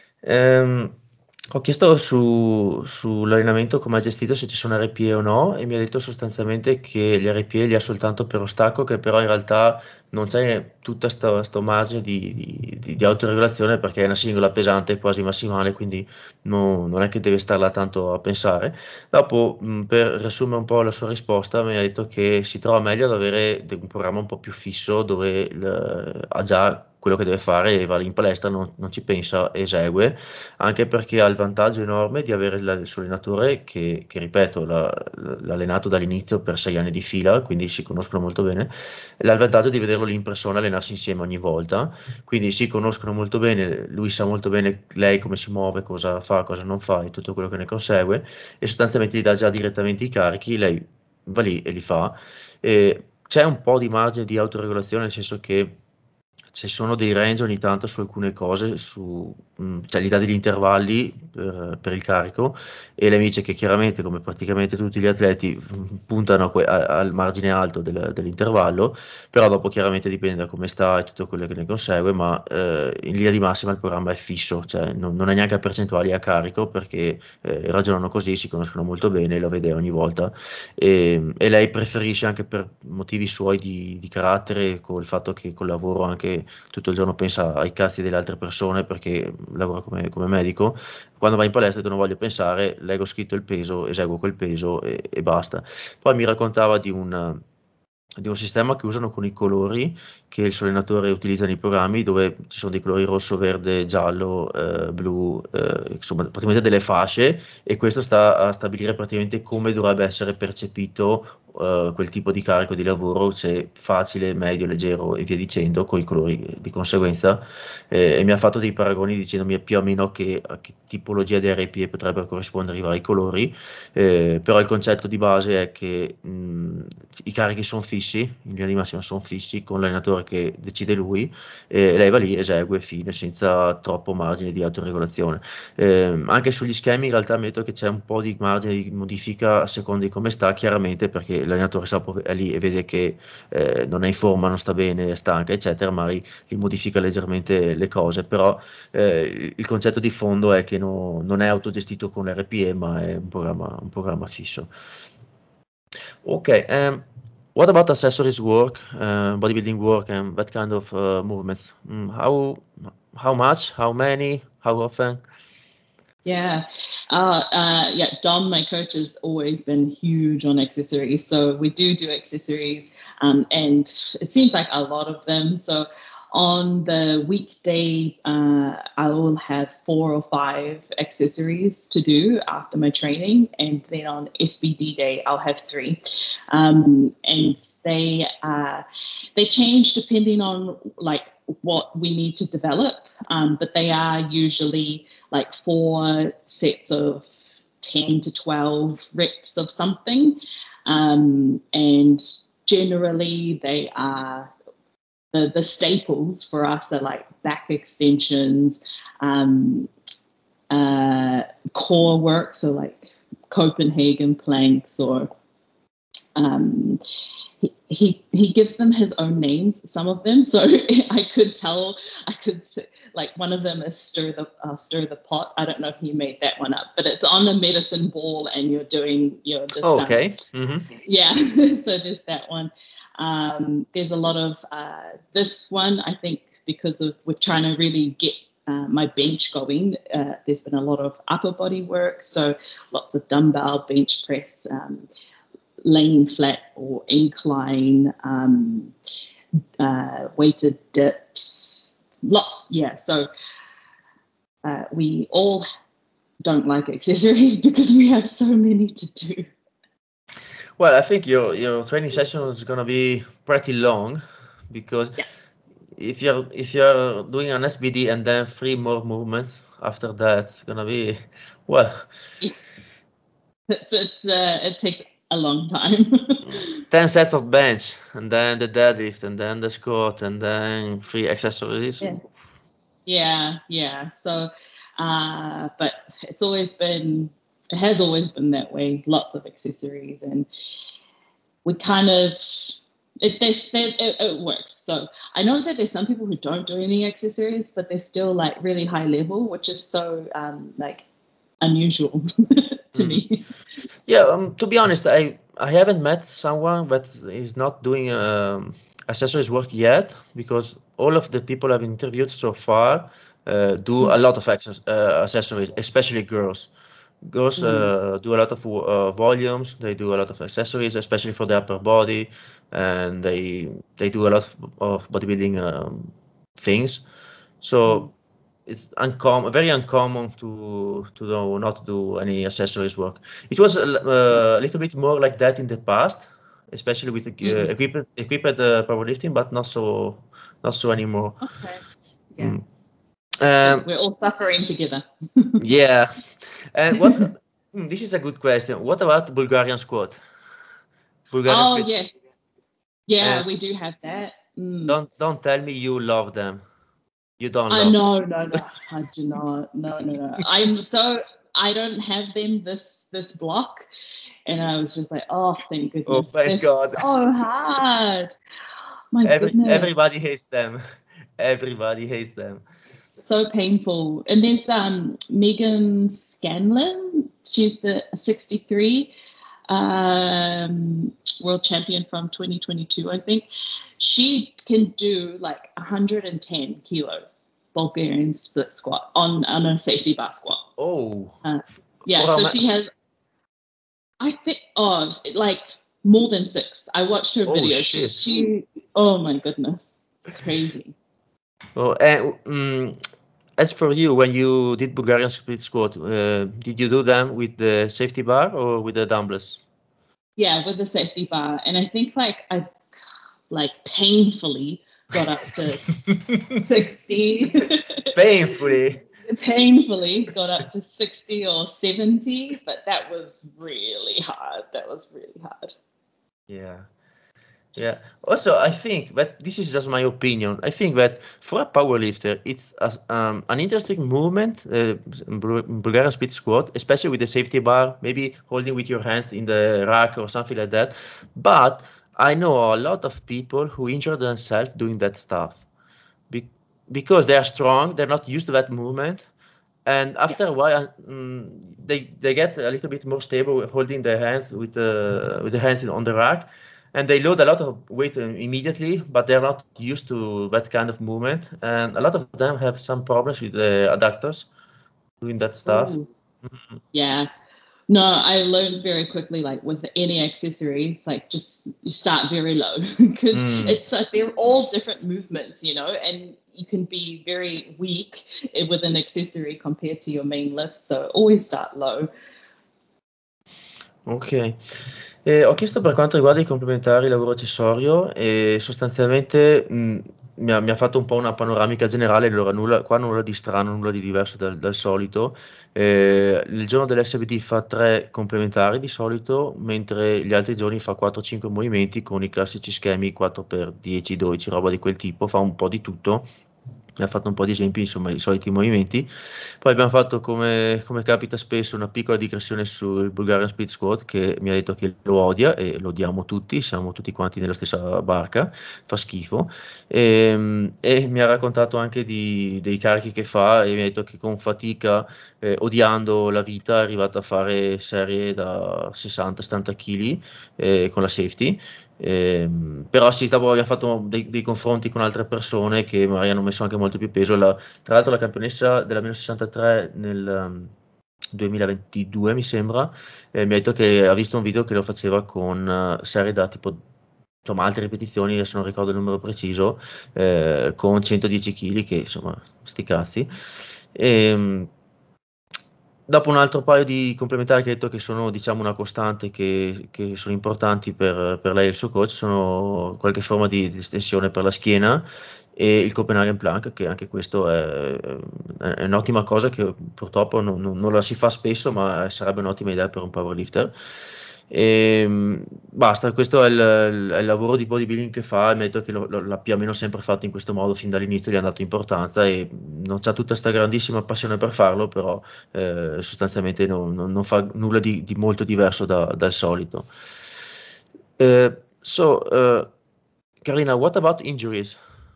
Ehm, ho chiesto su, sull'allenamento come ha gestito, se ci sono R P E o no, e mi ha detto sostanzialmente che gli R P E li ha soltanto per lo stacco, che però in realtà non c'è tutta sto, sto margine di, di, di- di autoregolazione perché è una singola pesante quasi massimale, quindi no- non è che deve star là tanto a pensare. Dopo, mh, per riassumere un po' la sua risposta, mi ha detto che si trova meglio ad avere de- un programma un po' più fisso dove il- ha già quello che deve fare e va lì in palestra, non, non ci pensa, esegue, anche perché ha il vantaggio enorme di avere la- il suo allenatore che, che, ripeto, l'ha l'ha allenato dall'inizio per sei anni di fila, quindi si conoscono molto bene, e ha il vantaggio di vederlo lì in persona allenarsi insieme ogni volta, quindi si conoscono molto bene, lui sa molto bene lei come si muove, cosa fa, cosa non fa e tutto quello che ne consegue e sostanzialmente gli dà già direttamente i carichi, lei va lì e li fa. E c'è un po' di margine di autoregolazione, nel senso che ci sono dei range ogni tanto su alcune cose, su, mh, cioè gli dà degli intervalli per, per il carico e lei mi dice che chiaramente, come praticamente tutti gli atleti, mh, puntano a que- a- al margine alto del- dell'intervallo, però dopo chiaramente dipende da come sta e tutto quello che ne consegue, ma eh, in linea di massima il programma è fisso, cioè non, non è neanche a percentuali a carico perché eh, ragionano così, si conoscono molto bene, lo vede ogni volta e, e lei preferisce anche per motivi suoi di, di carattere, col fatto che col lavoro anche tutto il giorno pensa ai cazzi delle altre persone perché lavora come, come medico, quando va in palestra tu non voglio pensare, leggo scritto il peso, eseguo quel peso e, e basta. Poi mi raccontava di un di un sistema che usano con i colori che il suo allenatore utilizza nei programmi dove ci sono dei colori rosso, verde, giallo, eh, blu, eh, insomma praticamente delle fasce e questo sta a stabilire praticamente come dovrebbe essere percepito uh, quel tipo di carico di lavoro, se facile, medio, leggero e via dicendo, con i colori di conseguenza, eh, e mi ha fatto dei paragoni dicendomi più o meno che, a che tipologia di R P E potrebbero corrispondere i vari colori, eh, però il concetto di base è che mh, i carichi sono fissi, in linea di massima sono fissi, con l'allenatore che decide lui, e lei va lì, esegue, fine, senza troppo margine di autoregolazione. Eh, anche sugli schemi in realtà ammetto che c'è un po' di margine di modifica a seconda di come sta, chiaramente perché l'allenatore sa, è lì e vede che eh, non è in forma, non sta bene, è stanca, eccetera, magari gli modifica leggermente le cose, però eh, il concetto di fondo è che no- non è autogestito con l'R P E, ma è un programma, un programma fisso. Ok, um, what about accessories work, uh, bodybuilding work, and that kind of uh, movements? Mm, how how much? How many? How often? Yeah. Uh, uh, yeah. Dom, my coach, has always been huge on accessories. So we do do accessories, um, and it seems like a lot of them. So on the weekday, uh, I will have four or five accessories to do after my training. And then on S B D day, I'll have three. Um, and they, uh, they change depending on like what we need to develop. Um, but they are usually like four sets of ten to twelve reps of something. Um, and generally, they are the, the staples for us are like back extensions, um, uh, core work, so like Copenhagen planks or um, he, he he gives them his own names, some of them, so I could tell, I could like one of them is stir the uh, stir the pot. I don't know if you made that one up, but it's on a medicine ball and you're doing, you're just um Okay. Mm-hmm. yeah. So there's that one. Um there's a lot of uh this one, I think, because of we're trying to really get uh, my bench going. Uh, there's been a lot of upper body work, so lots of dumbbell bench press, um, laying flat or incline, um, uh, weighted dips, lots. Yeah. So uh, we all don't like accessories because we have so many to do. Well, I think your your training session is gonna be pretty long because Yeah. if you're if you're doing an S B D and then three more movements after that, it's gonna be well Yes. It's, it's uh, it takes a long time. ten sets of bench and then the deadlift and then the squat and then three accessories. Yeah. Yeah. Yeah. So, uh, but it's always been, it has always been that way. Lots of accessories, and we kind of it, there's, there, it, it works. So I know that there's some people who don't do any accessories, but they're still like really high level, which is so um, like unusual to Mm. me. Yeah, um, to be honest, I I haven't met someone that is not doing um, accessories work yet because all of the people I've interviewed so far uh, do a lot of access, uh, accessories, especially girls. Girls Mm, uh, do a lot of uh, volumes. They do a lot of accessories, especially for the upper body, and they they do a lot of, of bodybuilding um, things. mm. So it's uncommon, very uncommon to to do, not do any accessories work. It was a, l- uh, a little bit more like that in the past, especially with uh, Mm. equipped equipped uh, powerlifting, but not so not so anymore. Okay. Yeah. Mm. Good. Um, We're all suffering together. yeah, and what? Hmm, this is a good question. What about Bulgarian squat? Bulgarian Oh, split? yes. Yeah, And we do have that. Mm. don't don't tell me you love them. You don't I love. no, no, no. I do not. No, no, no. I'm so I don't have them this this block, and I was just like, oh, thank Oh, goodness. They're thank God. so hard. My Every goodness, everybody hates them. Everybody hates them. so painful. And there's um Megan Scanlon. She's the sixty-three um, world champion from twenty twenty-two, I think. She can do like one hundred ten kilos Bulgarian split squat on, on a safety bar squat. Oh, Uh, f- yeah, for a so ma- she has, I think, oh, like more than six. I watched her oh video. She, shit. she oh my goodness, it's crazy. Oh, and mm, as for you, when you did Bulgarian split squat, uh, did you do them with the safety bar or with the dumbbells? Yeah, with the safety bar. And I think like I like painfully got up to sixty. Painfully. Painfully got up to sixty or seventy, but that was really hard. That was really hard. Yeah. Yeah. Also, I think that this is just my opinion. I think that for a powerlifter, it's as, um, an interesting movement, uh, Bul- Bulgarian split squat, especially with the safety bar, maybe holding with your hands in the rack or something like that. But I know a lot of people who injure themselves doing that stuff. Be- because they are strong, they're not used to that movement, and Yeah. after a while, um, they they get a little bit more stable holding their hands with the with the hands on the rack, and they load a lot of weight immediately, but they're not used to that kind of movement, and a lot of them have some problems with the adductors doing that stuff. Ooh. Yeah. No, I learned very quickly, like with any accessories, like just you start very low because Mm. it's like they're all different movements, you know, and you can be very weak with an accessory compared to your main lift. So always start low. Ok. Eh, ho chiesto per quanto riguarda i complementari lavoro accessorio e sostanzialmente mh, mi ha, mi ha fatto un po' una panoramica generale, allora nulla, qua nulla di strano, nulla di diverso dal, dal solito. Eh, il giorno dell'S B D fa tre complementari di solito, mentre gli altri giorni fa quattro cinque movimenti con i classici schemi quattro per dieci dodici, roba di quel tipo, fa un po' di tutto. Mi ha fatto un po' di esempi, insomma, i soliti movimenti. Poi abbiamo fatto, come, come capita spesso, una piccola digressione sul Bulgarian Split Squat, che mi ha detto che lo odia e lo odiamo tutti, siamo tutti quanti nella stessa barca, fa schifo. E, e mi ha raccontato anche di- dei carichi che fa e mi ha detto che con fatica, eh, odiando la vita, è arrivato a fare serie da sessanta settanta kg con la safety. Ehm, però sì, stavo, abbiamo fatto dei, dei confronti con altre persone che magari hanno messo anche molto più peso. La- tra l'altro la campionessa della meno sessantatré nel um, duemilaventidue, mi sembra, eh, mi ha detto che ha visto un video che lo faceva con eh, serie da tipo, insomma, altre ripetizioni, adesso non ricordo il numero preciso, eh, con centodieci chili, che insomma, sti cazzi. E, dopo un altro paio di complementari che hai detto che sono, diciamo, una costante, che, che sono importanti per, per lei e il suo coach, sono qualche forma di, di estensione per la schiena e il Copenhagen Plank, che anche questo è, è un'ottima cosa che purtroppo non, non- non la si fa spesso, ma sarebbe un'ottima idea per un powerlifter. E, basta, questo è il, è il lavoro di bodybuilding che fa, e mi ha detto che lo- lo- l'ha più o meno sempre fatto in questo modo fin dall'inizio, gli ha dato importanza e non c'ha tutta questa grandissima passione per farlo, però eh, sostanzialmente non, non- non fa nulla di, di molto diverso da- dal solito. Eh, so, uh, Carolina, what about injuries?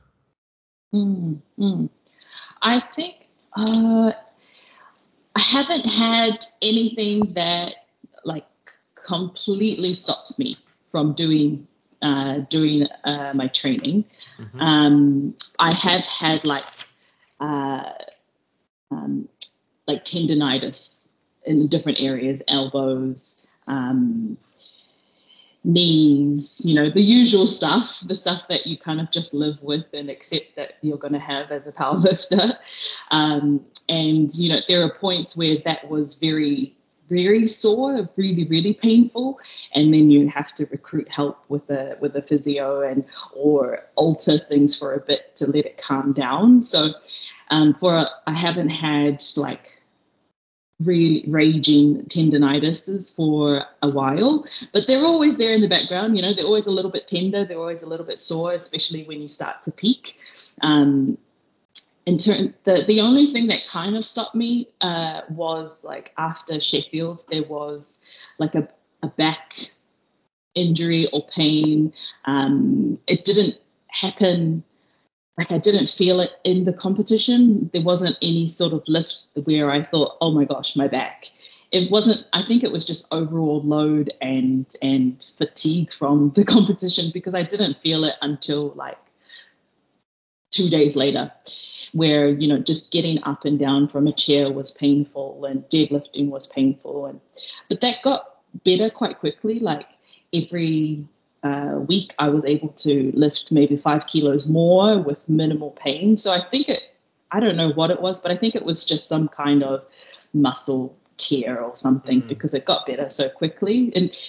Mm, mm. I think uh, I haven't had anything that like completely stops me from doing uh, doing uh, my training. Mhm. Um, I have had like uh, um, like tendonitis in different areas, elbows, um, knees, you know, the usual stuff, the stuff that you kind of just live with and accept that you're going to have as a powerlifter. Um, and, you know, there are points where that was very, very sore, really, really painful. And then you have to recruit help with a with a physio and or alter things for a bit to let it calm down. So um, for I haven't had like really raging tendinitises for a while, but they're always there in the background. You know, they're always a little bit tender, they're always a little bit sore, especially when you start to peak. Um, in turn, the the only thing that kind of stopped me uh, was like after Sheffield, there was like a, a back injury or pain. Um, it didn't happen like I didn't feel it in the competition. There wasn't any sort of lift where I thought, oh my gosh, my back. It wasn't, I think it was just overall load and and fatigue from the competition because I didn't feel it until like two days later, where, you know, just getting up and down from a chair was painful and deadlifting was painful. And but that got better quite quickly. Like every uh, week, I was able to lift maybe five kilos more with minimal pain. So I think it, I don't know what it was, but I think it was just some kind of muscle tear or something Mm. because it got better so quickly. And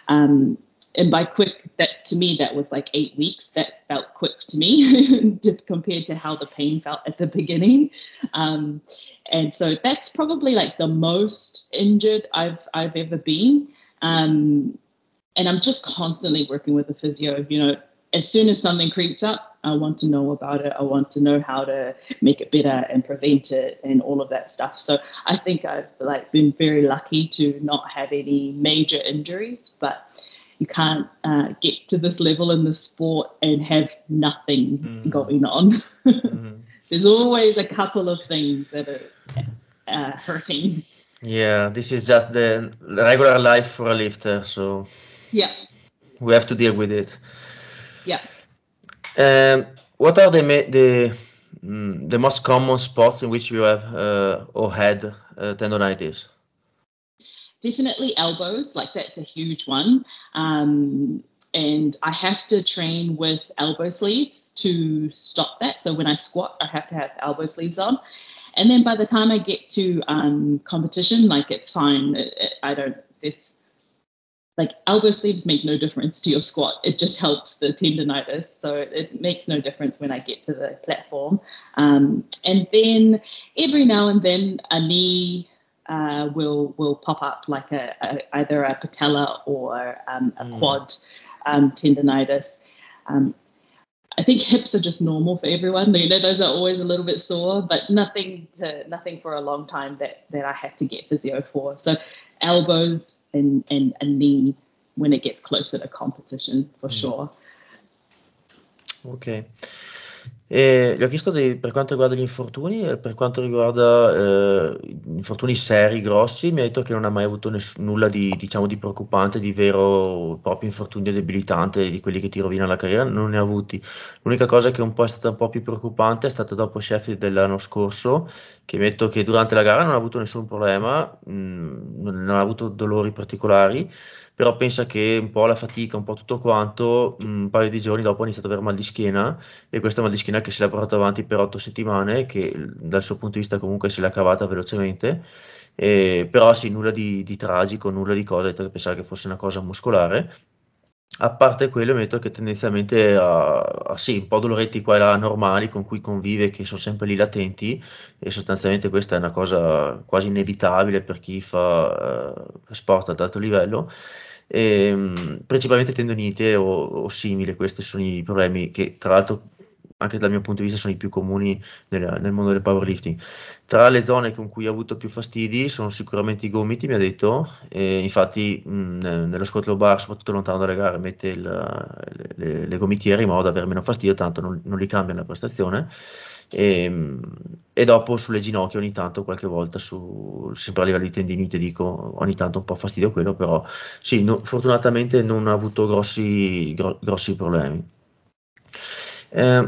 Um, and by quick, that to me, that was like eight weeks. That felt quick to me compared to how the pain felt at the beginning. Um, and so that's probably like the most injured I've I've ever been. Um, and I'm just constantly working with a physio. You know, as soon as something creeps up, I want to know about it. I want to know how to make it better and prevent it and all of that stuff. So I think I've like been very lucky to not have any major injuries, but you can't uh, get to this level in the sport and have nothing mm. going on. Mm. There's always a couple of things that are uh, hurting. Yeah, this is just the regular life for a lifter, so yeah, we have to deal with it. Yeah. Um, what are the the mm, the most common spots in which you have uh, or had uh, tendonitis? Definitely elbows, like that's a huge one. Um, and I have to train with elbow sleeves to stop that. So when I squat, I have to have elbow sleeves on. And then by the time I get to um, competition, like it's fine. It, it, I don't, this, like elbow sleeves make no difference to your squat. It just helps the tendonitis. So it makes no difference when I get to the platform. Um, and then every now and then a knee uh, will will pop up, like a, a either a patella or um, a mm. quad um, tendonitis. Um, I think hips are just normal for everyone. You know, those are always a little bit sore, but nothing to nothing for a long time that that I have to get physio for. So elbows and and a knee when it gets closer to competition, for mm. sure. Ok. E gli ho chiesto di, per quanto riguarda gli infortuni e per quanto riguarda eh, infortuni seri, grossi, mi ha detto che non ha mai avuto ness- nulla di, diciamo, di preoccupante, di vero proprio infortunio debilitante, di quelli che ti rovina la carriera, non ne ha avuti. L'unica cosa che un po' è stata un po' più preoccupante è stata dopo Sheffield dell'anno scorso, che mi ha detto che durante la gara non ha avuto nessun problema, mh, non ha avuto dolori particolari, però pensa che un po' la fatica, un po' tutto quanto, un paio di giorni dopo ha iniziato ad avere mal di schiena, e questa mal di schiena che se l'ha portato avanti per otto settimane, che dal suo punto di vista comunque se l'ha cavata velocemente, eh, però sì, nulla di, di tragico, nulla di cosa, ha detto che pensava che fosse una cosa muscolare. A parte quello, mi ha detto che tendenzialmente ha, ha sì, un po' doloretti qua e là normali con cui convive, che sono sempre lì latenti, e sostanzialmente questa è una cosa quasi inevitabile per chi fa uh, sport ad alto livello. E, um, principalmente tendinite o, o simili, questi sono i problemi che tra l'altro anche dal mio punto di vista sono i più comuni nel, nel mondo del powerlifting. Tra le zone con cui ho avuto più fastidi sono sicuramente i gomiti, mi ha detto, e infatti mh, nello squat low bar, soprattutto lontano dalle gare, mette il, le, le gomitiere in modo da avere meno fastidio, tanto non, non li cambia la prestazione. E, e dopo sulle ginocchia ogni tanto, qualche volta, su, sempre a livello di tendinite, dico, ogni tanto un po' fastidio quello, però sì, no, fortunatamente non ha avuto grossi, gro- grossi problemi. Um,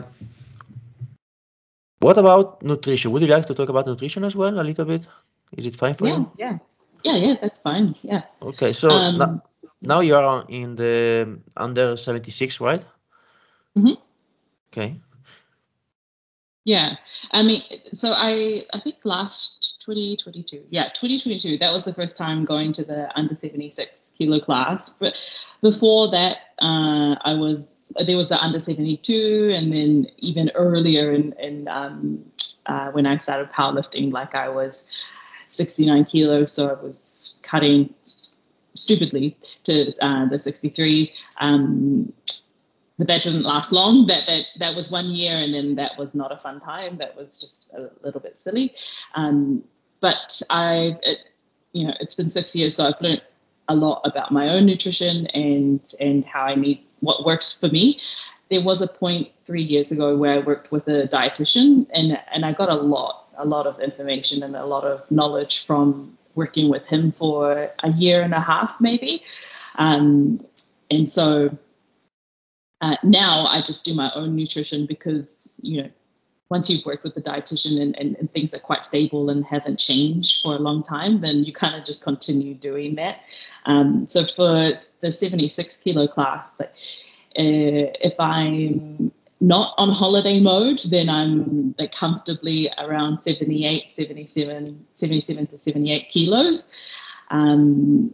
what about nutrition? Would you like to talk about nutrition as well a little bit? Is it fine for yeah, you? Yeah, yeah, yeah. That's fine. Yeah. Okay, so um, now, now you are in the under seventy-six, right? Mm-hmm. Okay. Yeah, I mean, so I I think last twenty twenty-two, yeah, twenty twenty-two, that was the first time going to the under seventy-six kilo class. But before that, uh, I was there was the under seventy-two, and then even earlier in in um, uh, when I started powerlifting, like I was sixty-nine kilos, so I was cutting stupidly to uh, the sixty-three. Um, but that didn't last long. That that that was one year, and then that was not a fun time. That was just a little bit silly. Um, but I, it, you know, it's been six years, so I've learned a lot about my own nutrition and and how I need what works for me. There was a point three years ago where I worked with a dietitian, and and I got a lot a lot of information and a lot of knowledge from working with him for a year and a half, maybe. Um, and so uh, now I just do my own nutrition because, you know, once you've worked with the dietitian and, and, and things are quite stable and haven't changed for a long time, then you kind of just continue doing that. Um, so for the seventy-six kilo class, like, uh, if I'm not on holiday mode, then I'm like comfortably around seventy-eight, seventy-seven, seventy-seven to seventy-eight kilos. Um,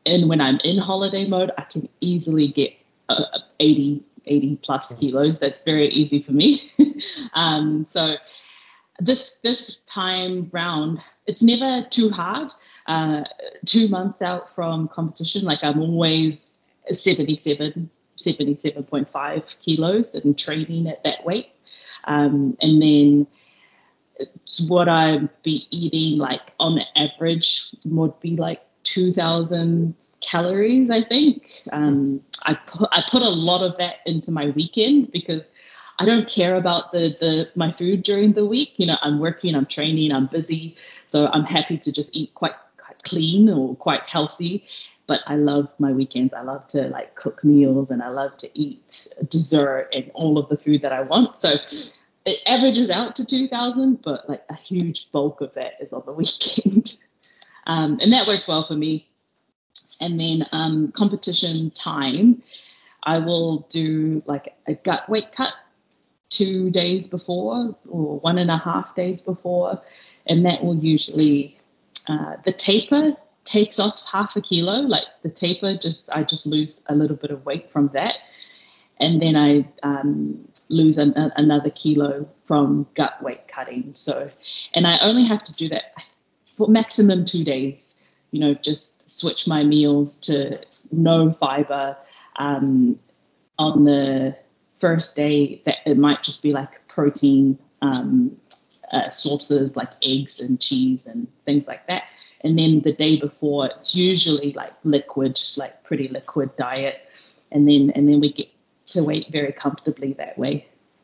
and when I'm in holiday mode, I can easily get uh, eighty, eighty plus kilos. That's very easy for me. um, so this this time round, it's never too hard. Uh, two months out from competition, like I'm always seventy-seven, seventy-seven point five kilos and training at that weight. Um, and then it's what I'd be eating, like on the average, would be like two thousand calories, I think. Um, I put I put a lot of that into my weekend because I don't care about the the my food during the week. You know, I'm working, I'm training, I'm busy, so I'm happy to just eat quite, quite clean or quite healthy. But I love my weekends. I love to like cook meals and I love to eat dessert and all of the food that I want. So it averages out to two thousand, but like a huge bulk of that is on the weekend. um, and that works well for me. And then um, competition time, I will do like a gut weight cut two days before or one and a half days before. And that will usually, uh, the taper takes off half a kilo. Like the taper, just I just lose a little bit of weight from that. And then I um, lose an, a, another kilo from gut weight cutting. So, and I only have to do that for maximum two days. You know, just switch my meals to no fiber. Um, on the first day, that it might just be like protein um, uh, sources like eggs and cheese and things like that. And then the day before, it's usually like liquid, like pretty liquid diet. And then and then we get to weight very comfortably that way.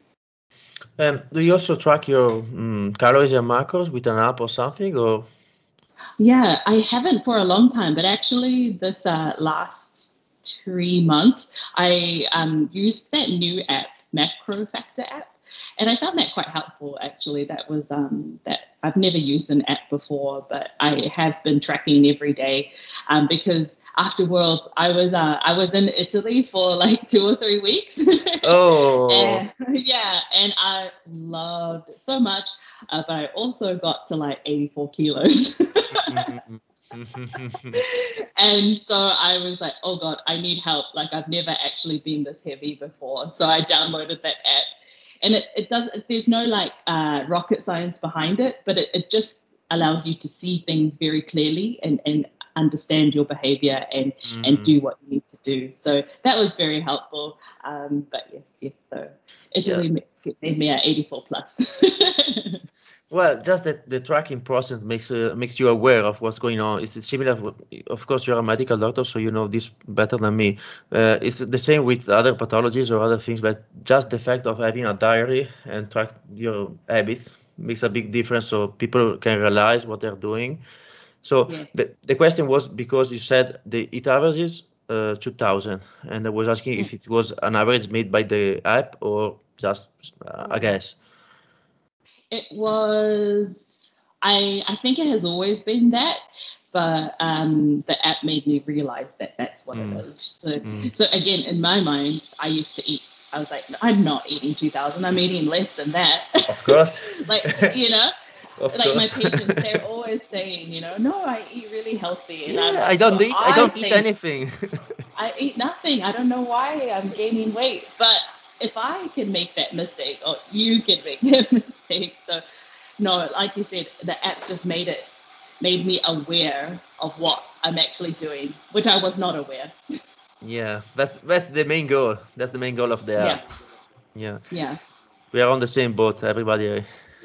Um, do you also track your um, calories and macros with an app or something, or? Yeah, I haven't for a long time, but actually, this uh, last three months, I um, used that new app, Macro Factor app, and I found that quite helpful. Actually, that was um, that I've never used an app before, but I have been tracking every day um, because after World, I was uh, I was in Italy for like two or three weeks, Oh, and yeah, and I loved it so much. Uh, but I also got to like eighty-four kilos. mm. And so I was like, oh God, I need help. Like I've never actually been this heavy before. So I downloaded that app. And it, it does, there's no like uh, rocket science behind it, but it, it just allows you to see things very clearly and, and understand your behavior and, and Mhm. do what you need to do. So that was very helpful. Um, but yes, yes. So Yeah. Italy made me at eighty-four plus. Well, just that the tracking process makes uh, makes you aware of what's going on. It's similar. Of course, you're a medical doctor, so you know this better than me. Uh, it's the same with other pathologies or other things, but just the fact of having a diary and track your habits makes a big difference, so people can realize what they're doing. So Yeah. the the question was because you said the it averages uh, two thousand, and I was asking Yeah. if it was an average made by the app or just uh, a guess. It was, I, I think it has always been that, but um, the app made me realize that that's what it Mm, is. So, mm. so again, in my mind, I used to eat, I was like, I'm not eating two thousand, I'm eating less than that. Of course. Like, you know, Of like my course. patients, they're always saying, you know, no, I eat really healthy. And I'm Yeah, I like, don't well, eat I I don't eat think anything. I eat nothing. I don't know why I'm gaining weight. But if I can make that mistake, or you can make that mistake. So no, like you said, the app just made it made me aware of what I'm actually doing, which I was not aware. Yeah, that's that's the main goal. That's the main goal of the Yeah, app. Yeah. yeah, We are on the same boat. Everybody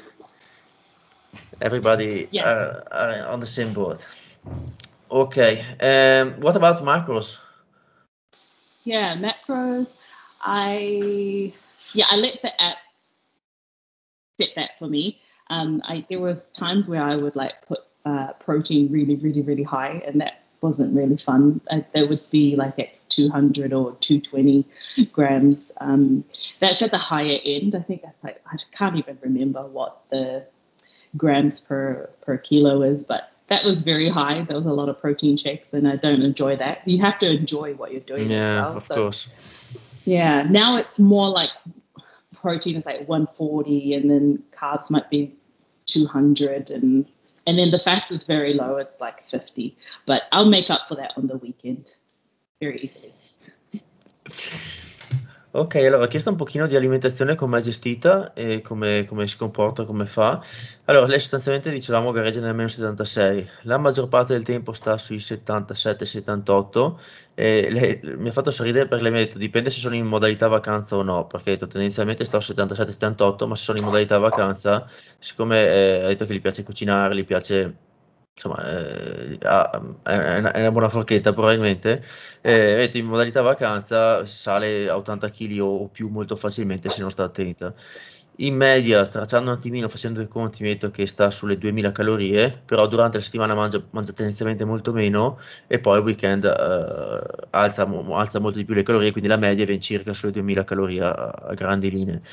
everybody yeah, are, are on the same boat. Okay. Um what about macros? yeah. Macros. I yeah, I let the app set that for me. Um, I there was times where I would like put uh, protein really, really, really high, and that wasn't really fun. Uh, they would be like at two hundred or two hundred twenty grams. Um, that's at the higher end. I think that's like I can't even remember what the grams per per kilo is, but that was very high. There was a lot of protein shakes, and I don't enjoy that. You have to enjoy what you're doing as Yeah, well. of So course. yeah, now it's more like protein is like one forty and then carbs might be two hundred and And then the fats is very low. It's like fifty. But I'll make up for that on the weekend very easily. Ok, allora ho chiesto un pochino di alimentazione, come è gestita e come, come si comporta, come fa. Allora, lei sostanzialmente dicevamo gareggia nel meno settantasei, la maggior parte del tempo sta sui settantasette settantotto e lei, mi ha fatto sorridere perché lei mi ha detto dipende se sono in modalità vacanza o no, perché ha detto tendenzialmente sto a settantasette settantotto, ma se sono in modalità vacanza, siccome eh, ha detto che gli piace cucinare, gli piace, insomma, eh, ha- è una, è una buona forchetta probabilmente, eh, vedete, in modalità vacanza sale a ottanta chili o, o più molto facilmente se non sta attenta. In media, tracciando un attimino, facendo i conti, mi ha detto che sta sulle duemila calorie, però durante la settimana mangia, mangia tendenzialmente molto meno e poi il weekend eh, alza, mo- alza molto di più le calorie, quindi la media viene circa sulle duemila calorie a, a grandi linee.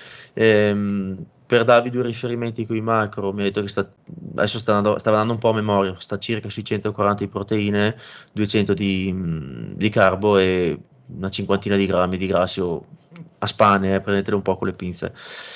Ehm, per darvi due riferimenti con i macro, mi ha detto che sta, adesso sta andando, stava andando un po' a memoria, sta circa sui centoquaranta di proteine, duecento di, mh, di carbo e una cinquantina di grammi di grassi o a spanne, eh, prendetele un po' con le pinze.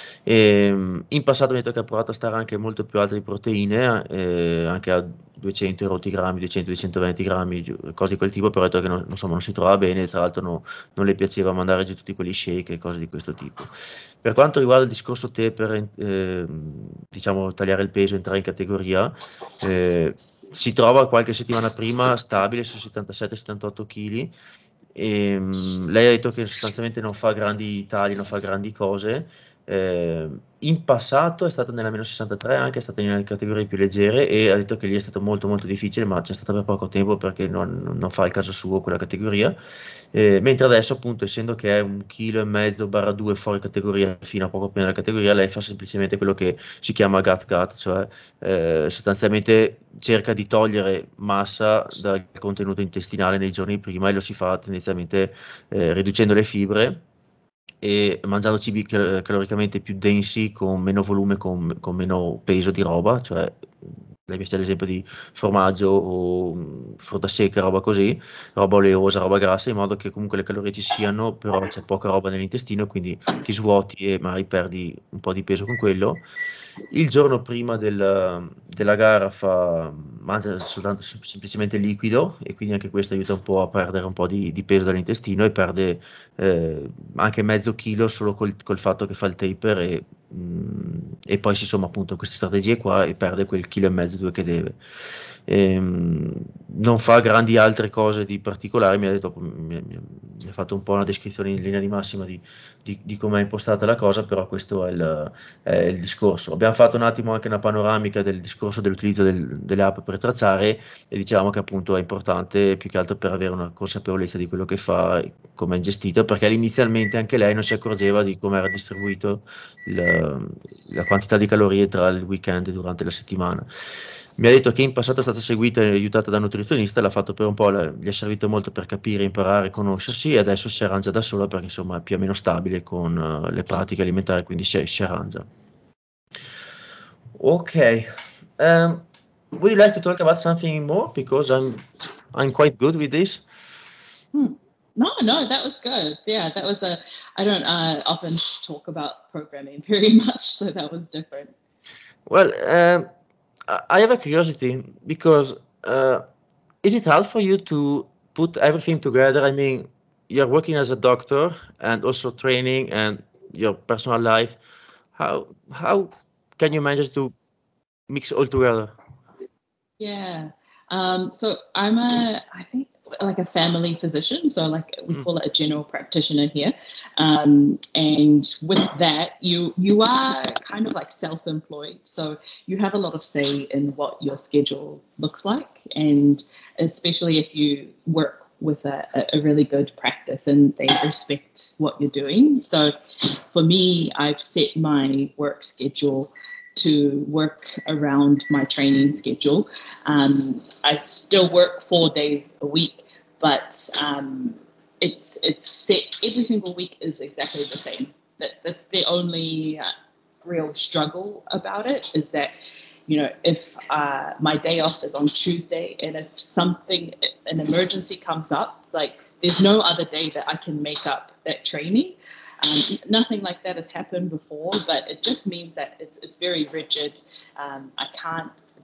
E, mh, in passato mi ha detto che ha provato a stare anche molto più alte di proteine, eh, anche a duecento rotti grammi, duecento duecentoventi grammi, giù- cose di quel tipo, però ha detto che non, insomma, non si trova bene, tra l'altro no- non le piaceva mandare giù tutti quelli shake e cose di questo tipo. Per quanto riguarda il discorso te per eh, diciamo, tagliare il peso, entrare in categoria, eh, si trova qualche settimana prima stabile su settantasette settantotto kg. E, mh, lei ha detto che sostanzialmente non fa grandi tagli, non fa grandi cose. Eh, in passato è stata nella meno sessantatré, anche è stata nelle categorie più leggere e ha detto che lì è stato molto molto difficile, ma c'è stato per poco tempo perché non, non fa il caso suo quella categoria. Eh, mentre adesso, appunto, essendo che è un chilo e mezzo barra due fuori categoria fino a poco prima della categoria, lei fa semplicemente quello che si chiama gut cut, cioè eh, sostanzialmente cerca di togliere massa dal contenuto intestinale nei giorni prima e lo si fa tendenzialmente eh, riducendo le fibre e mangiando cibi cal- caloricamente più densi, con meno volume, con, con meno peso di roba, cioè lei mi ad esempio di formaggio o mh, frutta secca, roba così, roba oleosa, roba grassa, in modo che comunque le calorie ci siano, però c'è poca roba nell'intestino, quindi ti svuoti e magari perdi un po' di peso con quello. Il giorno prima del- della gara fa, mangia soltanto sem- semplicemente liquido e quindi anche questo aiuta un po' a perdere un po' di, di peso dall'intestino e perde eh, anche mezzo chilo solo col, col fatto che fa il taper e, mh, e poi si somma appunto queste strategie qua e perde quel chilo e mezzo, due che deve. Ehm, non fa grandi altre cose di particolare, mi ha detto, mi, mi- mi ha fatto un po' una descrizione in linea di massima di, di, di come è impostata la cosa, però questo è il, è il discorso. Abbiamo fatto un attimo anche una panoramica del discorso dell'utilizzo del- delle app per tracciare e diciamo che appunto è importante più che altro per avere una consapevolezza di quello che fa e come è gestito, perché inizialmente anche lei non si accorgeva di come era distribuito il- la quantità di calorie tra il weekend e durante la settimana. Mi ha detto che in passato è stata seguita e aiutata da un nutrizionista, l'ha fatto per un po', la- gli è servito molto per capire, imparare, conoscersi e adesso si arrangia da sola perché insomma è più o meno stabile con eh, le pratiche alimentari, quindi si, si arrangia. Okay. Um, would you like to talk about something more? Because I'm I'm quite good with this. Hmm. No, no, that was good. Yeah, that was a. I don't uh, often talk about programming very much, so that was different. Well, um, I I have a curiosity because uh, is it hard for you to put everything together? I mean, you're working as a doctor and also training and your personal life. How how can you manage to mix all together? Yeah. Um, so I'm a, I think like a family physician. So like we Mm, call it a general practitioner here. Um, and with that, you you are kind of like self-employed. So you have a lot of say in what your schedule looks like, and especially if you work with a, a really good practice and they respect what you're doing. So for me, I've set my work schedule to work around my training schedule. Um, I still work four days a week, but um, it's it's set every single week is exactly the same. That that's the only uh, real struggle about it is that you know if uh, my day off is on Tuesday and if something an emergency comes up, like there's no other day that I can make up that training. Um, nothing like that has happened before, but it just means that it's it's very rigid. Um, I can't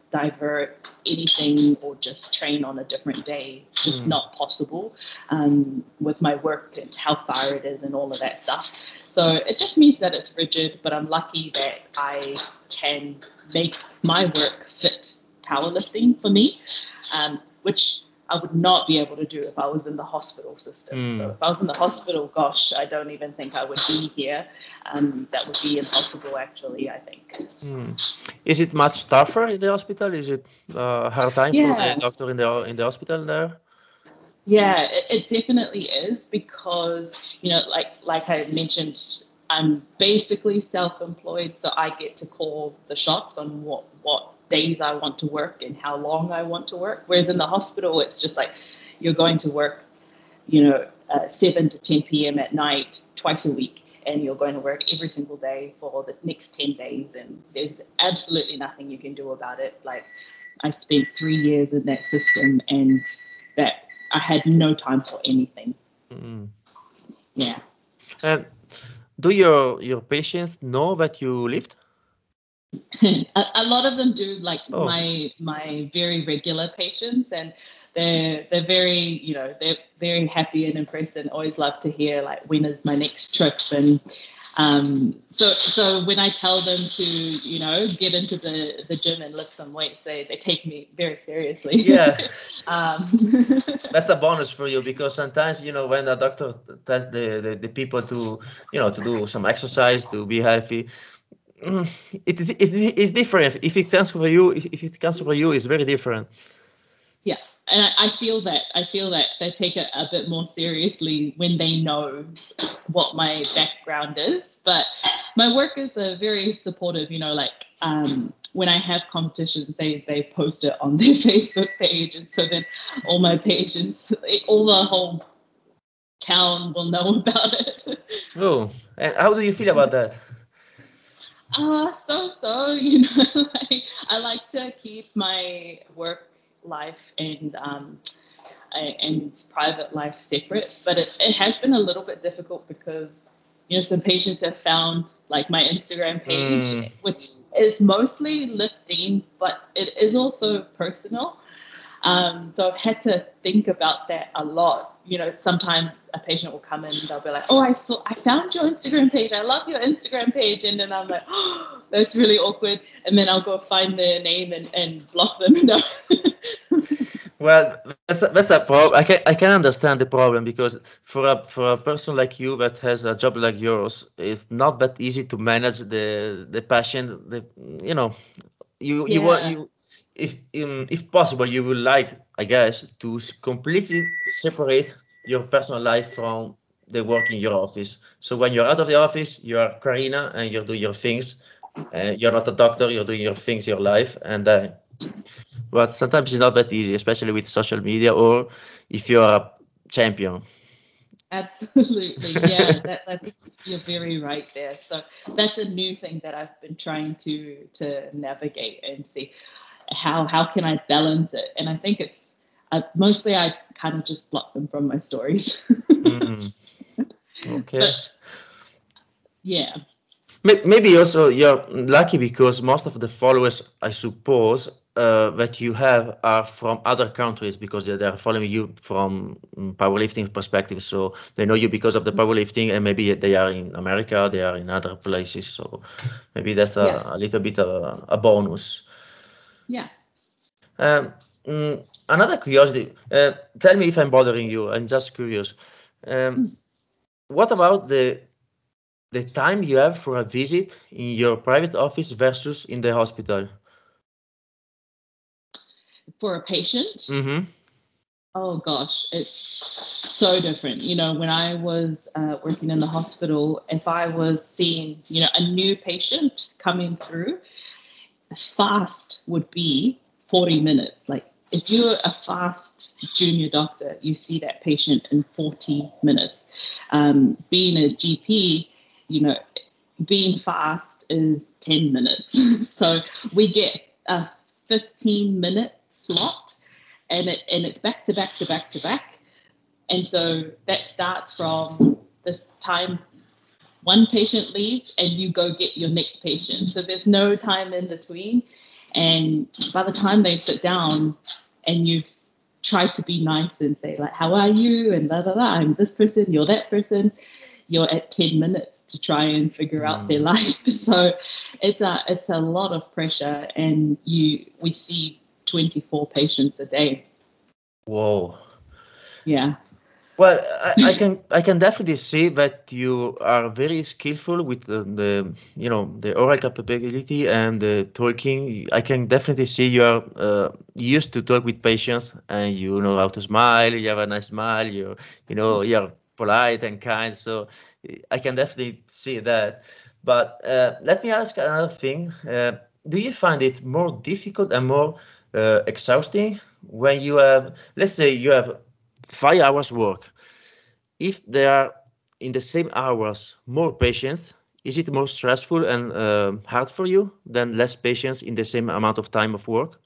divert anything or just train on a different day. It's just Mm. not possible um, with my work and how far it is and all of that stuff. So it just means that it's rigid, but I'm lucky that I can make my work fit powerlifting for me, um, which I would not be able to do if I was in the hospital system. Mm. So if I was in the hospital, gosh, I don't even think I would be here. Um, that would be impossible, actually, I think. Mm. Is it much tougher in the hospital? Is it uh, hard time for the Yeah, doctor in the in the hospital there? yeah, it, it definitely is because, you know, like like I mentioned, I'm basically self-employed, so I get to call the shots on what what days I want to work and how long I want to work. Whereas in the hospital, it's just like you're going to work, you know, uh, seven to ten p m at night twice a week, and you're going to work every single day for the next ten days, and there's absolutely nothing you can do about it. Like, I spent three years in that system, and that I had no time for anything. Mm. Yeah. And do your your patients know that you lift? a, a lot of them do, like Oh, my my very regular patients, and they're they're very, you know, they're very happy and impressed and always love to hear like when is my next trip. And um so so when I tell them to, you know, get into the the gym and lift some weights, they they take me very seriously. yeah. um That's a bonus for you because sometimes you know when a doctor tells the, the, the people to you know to do some exercise to be healthy, mm, it is it's, it's different. If it comes for you, if if it comes for you, it's very different. Yeah, and I, I feel that I feel that they take it a bit more seriously when they know what my background is. But my workers are very supportive. You know, like um, when I have competitions, they they post it on their Facebook page, and so then all my patients, all the whole town will know about it. Oh, and how do you feel about that? Uh, so so, you know, like I like to keep my work life and um, and private life separate. But it, it has been a little bit difficult because, you know, some patients have found like my Instagram page, Mm, which is mostly lifting, but it is also personal. Um, so I've had to think about that a lot. You know, sometimes a patient will come in and they'll be like, "Oh, I saw, I found your Instagram page. I love your Instagram page," and then I'm like, "Oh, that's really awkward." And then I'll go find their name and, and block them. No. well, that's a, that's a problem. I can I can understand the problem because for a for a person like you that has a job like yours, it's not that easy to manage the the passion. The you know you you want Yeah. you if um, if possible you would like I guess to s- completely separate your personal life from the work in your office. So when you're out of the office, you are Karina and you're doing your things. Uh, you're not a doctor. You're doing your things, your life, and uh, but sometimes it's not that easy, especially with social media or if you're a champion. Absolutely. Yeah, that, that's you're very right there. So that's a new thing that I've been trying to to navigate and see how how can I balance it. And I think it's uh, mostly I kind of just block them from my stories. Mm, But okay. yeah, May- Maybe also you're lucky because most of the followers, I suppose, uh, that you have are from other countries because they they are following you from mm, powerlifting perspective. So they know you because of the powerlifting, and maybe they are in America, they are in other places. So maybe that's yeah, a, a little bit of a, a bonus. yeah. Um, mm, Another curiosity. Uh, tell me if I'm bothering you. I'm just curious. Um, what about the the time you have for a visit in your private office versus in the hospital? For a patient, Mm-hmm. oh gosh, it's so different. You know, when I was uh, working in the hospital, if I was seeing, you know, a new patient coming through, fast would be forty minutes. Like if you're a fast junior doctor, you see that patient in forty minutes. Um, being a G P, you know, being fast is ten minutes. So we get a fifteen minute slot, and it and it's back to back to back to back. And so that starts from this time one patient leaves and you go get your next patient. So there's no time in between. And by the time they sit down and you've tried to be nice and say like, how are you? And blah, blah, blah, I'm this person, you're that person, you're at ten minutes to try and figure out Mm. their life. So it's a, it's a lot of pressure, and you, we see twenty-four patients a day. Whoa. Yeah. Well, I, I can I can definitely see that you are very skillful with the, the you know the oral capability and the talking. I can definitely see you are uh, used to talk with patients, and you know how to smile. You have a nice smile. You you know you're polite and kind. So I can definitely see that. But uh, let me ask another thing. Uh, do you find it more difficult and more uh, exhausting when you have, let's say, you have five hours work? If there are in the same hours more patients, is it more stressful and uh, hard for you than less patients in the same amount of time of work?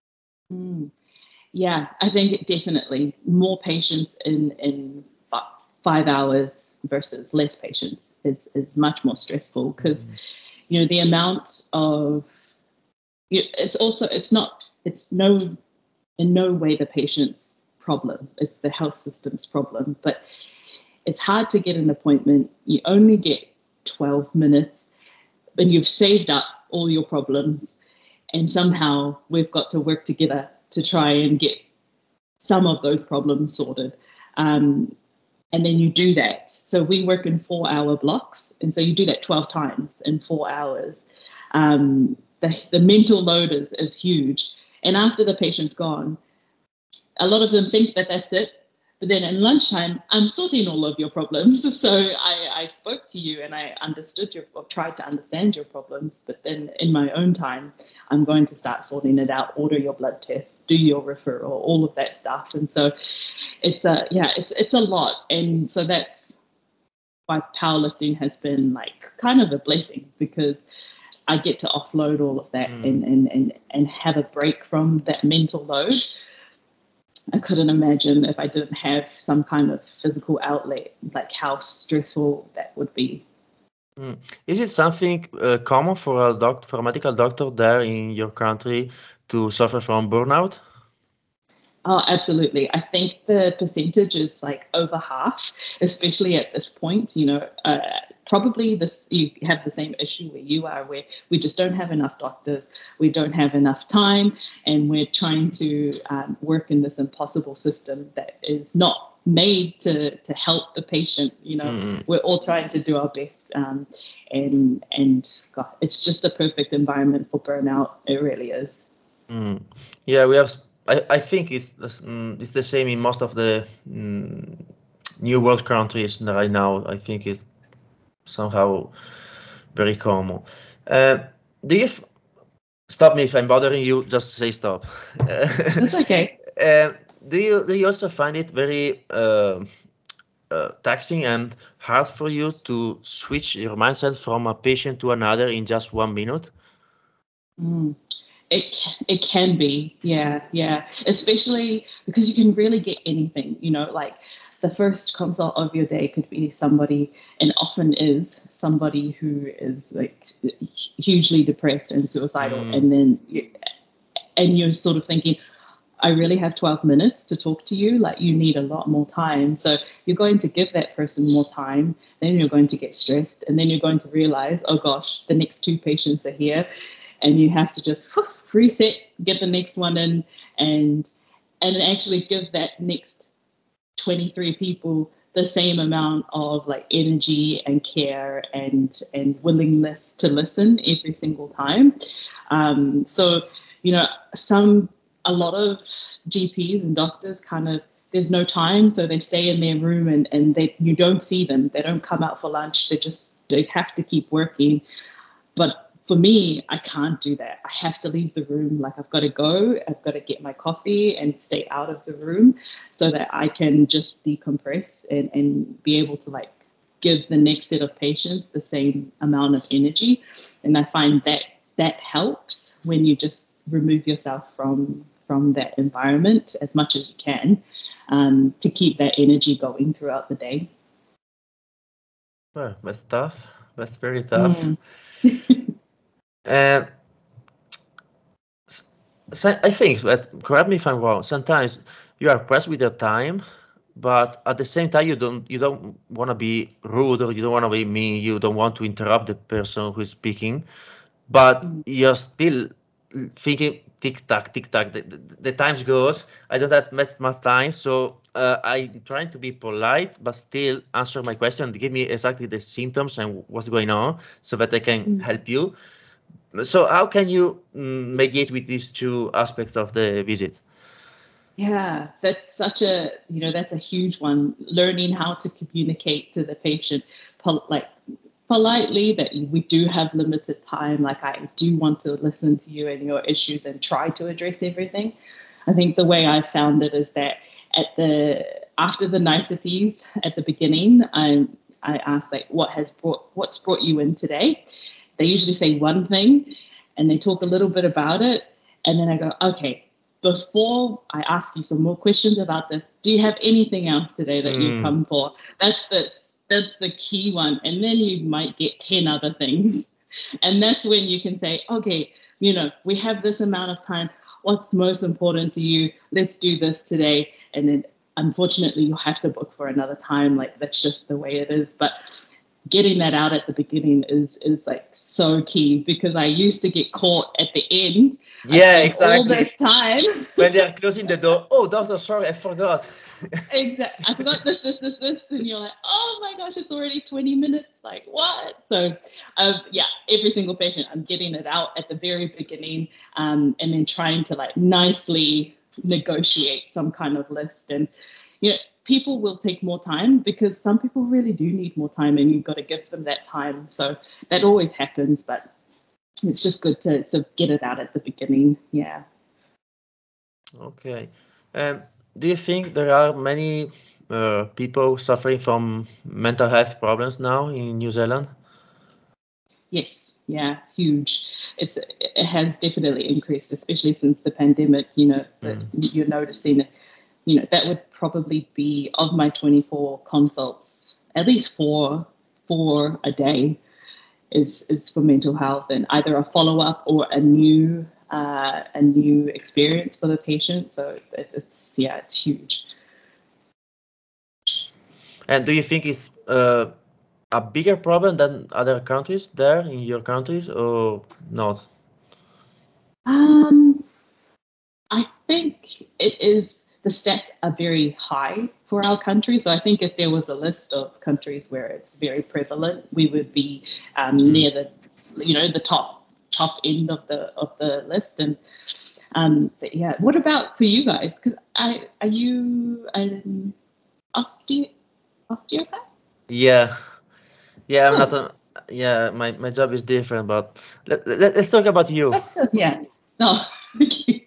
Mm. Yeah, I think definitely more patients in in five hours versus less patients is is much more stressful, because Mm. you know the amount of you, it's also it's not it's no in no way the patient's problem. It's the health system's problem. But it's hard to get an appointment. You only get twelve minutes, and you've saved up all your problems. And somehow we've got to work together to try and get some of those problems sorted. Um, and then you do that. So we work in four hour blocks. And so you do that twelve times in four hours. Um, the, the mental load is, is huge. And after the patient's gone, a lot of them think that that's it. But then in lunchtime, I'm sorting all of your problems. So I, I spoke to you and I understood your, or tried to understand your problems. But then in my own time, I'm going to start sorting it out, order your blood test, do your referral, all of that stuff. And so it's a, yeah, it's, it's a lot. And so that's why powerlifting has been like kind of a blessing, because I get to offload all of that Mm. and, and, and, and have a break from that mental load. I couldn't imagine if I didn't have some kind of physical outlet, like how stressful that would be. Mm. Is it something uh, common for a doc for a medical doctor there in your country to suffer from burnout? Oh, absolutely. I think the percentage is like over half, especially at this point. You know, uh, probably this you have the same issue where you are, where we just don't have enough doctors, we don't have enough time, and we're trying to um, work in this impossible system that is not made to to help the patient. You know, Mm. we're all trying to do our best, um, and and God, it's just the perfect environment for burnout. It really is. Mm. Yeah, we have. s- I, I think it's the s- mm, it's the same in most of the mm, new world countries right now. I think it's somehow very common. Uh, do you f- stop me if I'm bothering you? Just say stop. That's okay. Uh, do you do you also find it very uh, uh, taxing and hard for you to switch your mindset from a patient to another in just one minute? Mm. It it can be, yeah, yeah. Especially because you can really get anything, you know, like the first consult of your day could be somebody, and often is somebody who is like hugely depressed and suicidal, Mm. and then you, and you're sort of thinking, I really have twelve minutes to talk to you. Like, you need a lot more time. So you're going to give that person more time. Then you're going to get stressed. And then you're going to realize, oh gosh, the next two patients are here. And you have to just whew, reset, get the next one in, and and actually give that next twenty-three people the same amount of like energy and care and and willingness to listen every single time. Um, so, you know, some a lot of G Ps and doctors kind of there's no time, so they stay in their room and and they you don't see them. They don't come out for lunch. They just they have to keep working. But for me, I can't do that. I have to leave the room. Like, I've got to go. I've got to get my coffee and stay out of the room so that I can just decompress and, and be able to like give the next set of patients the same amount of energy. And I find that that helps when you just remove yourself from from that environment as much as you can, um, to keep that energy going throughout the day. Well, that's tough. That's very tough. Mm. And So I think that, correct me if I'm wrong, sometimes you are pressed with your time, but at the same time you don't you don't want to be rude or you don't want to be mean, you don't want to interrupt the person who is speaking, but Mm, you're still thinking tick tock, tick tock. The, the, the times goes. I don't have much much time, so uh, I'm trying to be polite, but still answer my question and give me exactly the symptoms and what's going on, so that I can mm. help you. So how can you mm, mediate with these two aspects of the visit? Yeah, that's such a, you know, that's a huge one. Learning how to communicate to the patient, pol- like politely, that we do have limited time. Like, I do want to listen to you and your issues and try to address everything. I think the way I found it is that at the after the niceties at the beginning, I I ask, like, what has brought what's brought you in today. They usually say one thing, and they talk a little bit about it, and then I go, okay, before I ask you some more questions about this, do you have anything else today that you've Mm, come for? That's the that's the key one. And then you might get ten other things. And that's when you can say, okay, you know, we have this amount of time. What's most important to you? Let's do this today. And then unfortunately you'll have to book for another time. Like, that's just the way it is. But getting that out at the beginning is is like so key, because I used to get caught at the end. I yeah, spent all exactly. this time. When they are closing the door, oh, doctor, sorry, I forgot. Exactly. I forgot this, this, this, this, and you're like, oh my gosh, it's already twenty minutes. Like, what? So, um, yeah, every single patient, I'm getting it out at the very beginning, um, and then trying to like nicely negotiate some kind of list. And you know, people will take more time because some people really do need more time, and you've got to give them that time. So that always happens, but it's just good to to get it out at the beginning. Yeah. Okay. Um, do you think there are many uh, people suffering from mental health problems now in New Zealand? Yes, yeah, huge. It's it has definitely increased, especially since the pandemic. You know, that Mm. you're noticing. You know, that would probably be, of my twenty-four consults, at least four four a day is is for mental health, and either a follow up or a new uh, a new experience for the patient. So it, it's yeah, it's huge. And do you think it's uh, a bigger problem than other countries there in your countries or not? Um, I think it is, the stats are very high for our country. So I think if there was a list of countries where it's very prevalent, we would be um, Mm. near the, you know, the top top end of the of the list. And um, but yeah, what about for you guys? Because I are you an osteo osteopath? Yeah, yeah, I'm not Oh, a, yeah, my, my job is different, but let, let, let's talk about you. that's a, yeah. No, okay.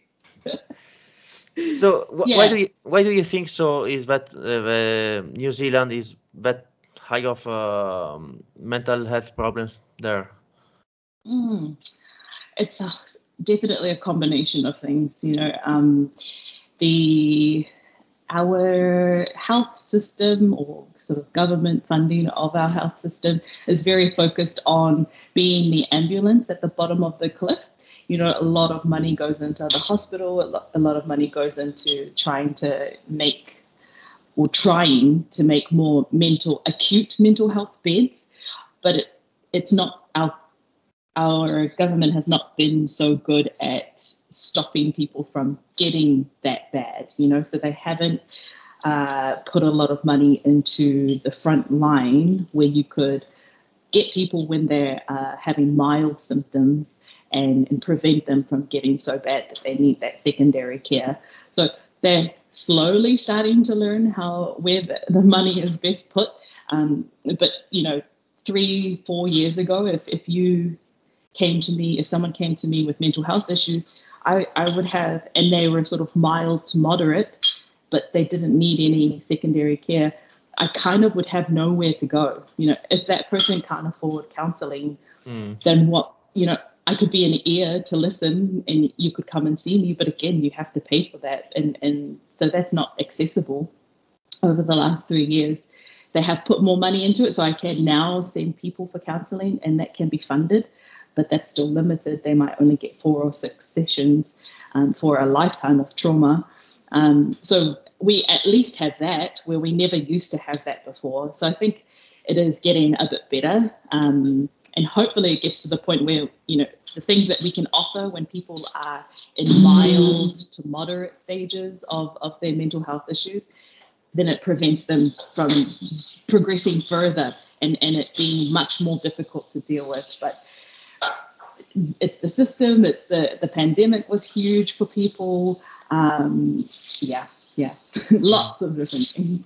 So wh- why do Yeah. you why do you think so is that uh, the New Zealand is that high of um, mental health problems there? Mm. It's a, definitely a combination of things. You know, um, the our health system, or sort of government funding of our health system, is very focused on being the ambulance at the bottom of the cliff. You know, a lot of money goes into the hospital, a lot, a lot of money goes into trying to make or trying to make more mental acute mental health beds, but it, it's not our our government has not been so good at stopping people from getting that bad, you know, so they haven't uh, put a lot of money into the front line where you could get people when they're uh, having mild symptoms, and, and prevent them from getting so bad that they need that secondary care. So they're slowly starting to learn how where the, the money is best put. Um, but you know, three, four years ago, if if you came to me, if someone came to me with mental health issues, I, I would have, and they were sort of mild to moderate, but they didn't need any secondary care, I kind of would have nowhere to go. You know, if that person can't afford counseling, Mm. then what, you know, I could be an ear to listen and you could come and see me, but again, you have to pay for that. And, and so that's not accessible. Over the last three years, they have put more money into it. So I can now send people for counseling, and that can be funded. but that's still limited. They might only get four or six sessions um, for a lifetime of trauma. Um, so we at least have that where we never used to have that before. So I think it is getting a bit better. Um, and hopefully it gets to the point where, you know, the things that we can offer when people are in mild to moderate stages of, of their mental health issues, then it prevents them from progressing further and, and it being much more difficult to deal with. But it's the system, it's the, the pandemic was huge for people. Um, yeah, yeah, lots of different things.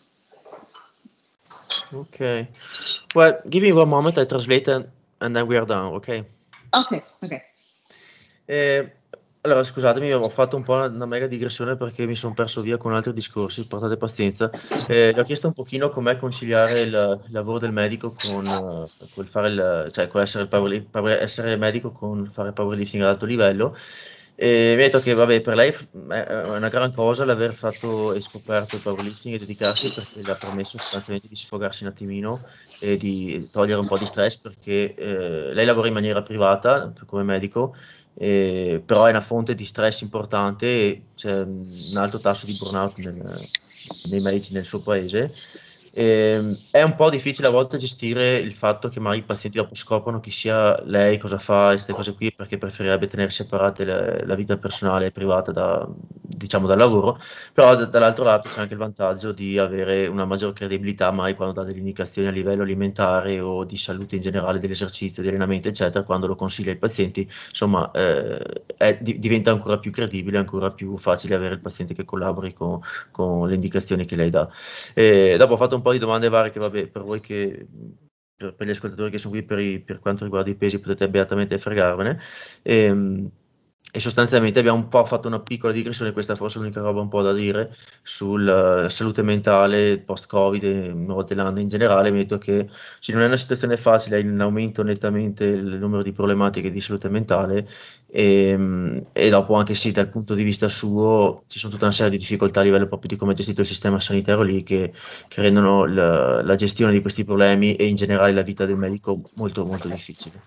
Okay. Well, give me one moment, I translate and, and then we are done, ok? Ok, ok. Eh, allora, scusatemi, ho fatto un po' una, una mega digressione perché mi sono perso via con altri discorsi, portate pazienza. Eh, gli ho chiesto un pochino com'è conciliare il, il lavoro del medico con, uh, col fare il, cioè con essere, il power, power, essere medico con fare powerlifting ad alto livello. E mi ha detto che vabbè, per lei è una gran cosa l'aver fatto e scoperto il powerlifting e dedicarsi perché le ha permesso sostanzialmente di sfogarsi un attimino e di togliere un po' di stress perché eh, lei lavora in maniera privata come medico, eh, però è una fonte di stress importante e c'è un alto tasso di burnout nel- nei medici nel suo paese. Ehm, è un po' difficile a volte gestire il fatto che magari i pazienti dopo scoprono chi sia lei, cosa fa e queste cose qui, perché preferirebbe tenere separate le- la vita personale e privata da, diciamo, dal lavoro, però d- dall'altro lato c'è anche il vantaggio di avere una maggior credibilità mai quando dà delle indicazioni a livello alimentare o di salute in generale, dell'esercizio, di allenamento, eccetera, quando lo consiglia ai pazienti, insomma, eh, è- di- diventa ancora più credibile, ancora più facile avere il paziente che collabori con, con le indicazioni che lei dà. E dopo ho fatto un po' di domande varie che, vabbè, per voi che... Per, per gli ascoltatori che sono qui per, i- per quanto riguarda i pesi potete beatamente fregarvene. Ehm, E, sostanzialmente abbiamo un po' fatto una piccola digressione, questa è forse l'unica roba un po' da dire, sulla salute mentale post-Covid e Nuova Zelanda in generale. Mi ha detto che sì, non è una situazione facile, è in aumento nettamente il numero di problematiche di salute mentale e, e dopo anche sì, dal punto di vista suo ci sono tutta una serie di difficoltà a livello proprio di come è gestito il sistema sanitario lì che, che rendono la, la gestione di questi problemi e in generale la vita del medico molto molto difficile.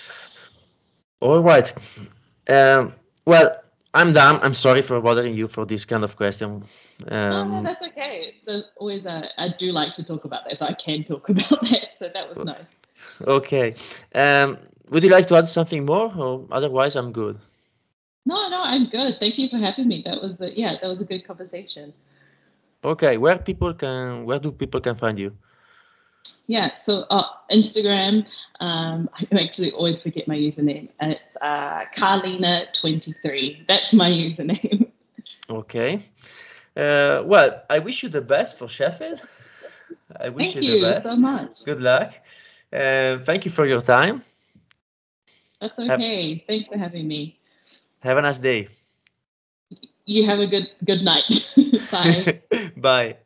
All right. Um, well, I'm done. I'm sorry for bothering you for this kind of question. No, no, Um, that's okay. It's a, always a, I do like to talk about that, so I can talk about that. So that was nice. okay. Um, would you like to add something more, or otherwise I'm good? No, no, I'm good. Thank you for having me. That was a, yeah, that was a good conversation. Okay. Where people can, where do people can find you? Yeah, so uh, Instagram, um, I actually always forget my username. It's uh, Carlina twenty-three. That's my username. Okay. Uh, well, I wish you the best for Sheffield. I wish Thank you the you best. so much. Good luck. Uh, thank you for your time. That's Have, okay. Thanks for having me. have a nice day. You have a good good night. Bye. Bye.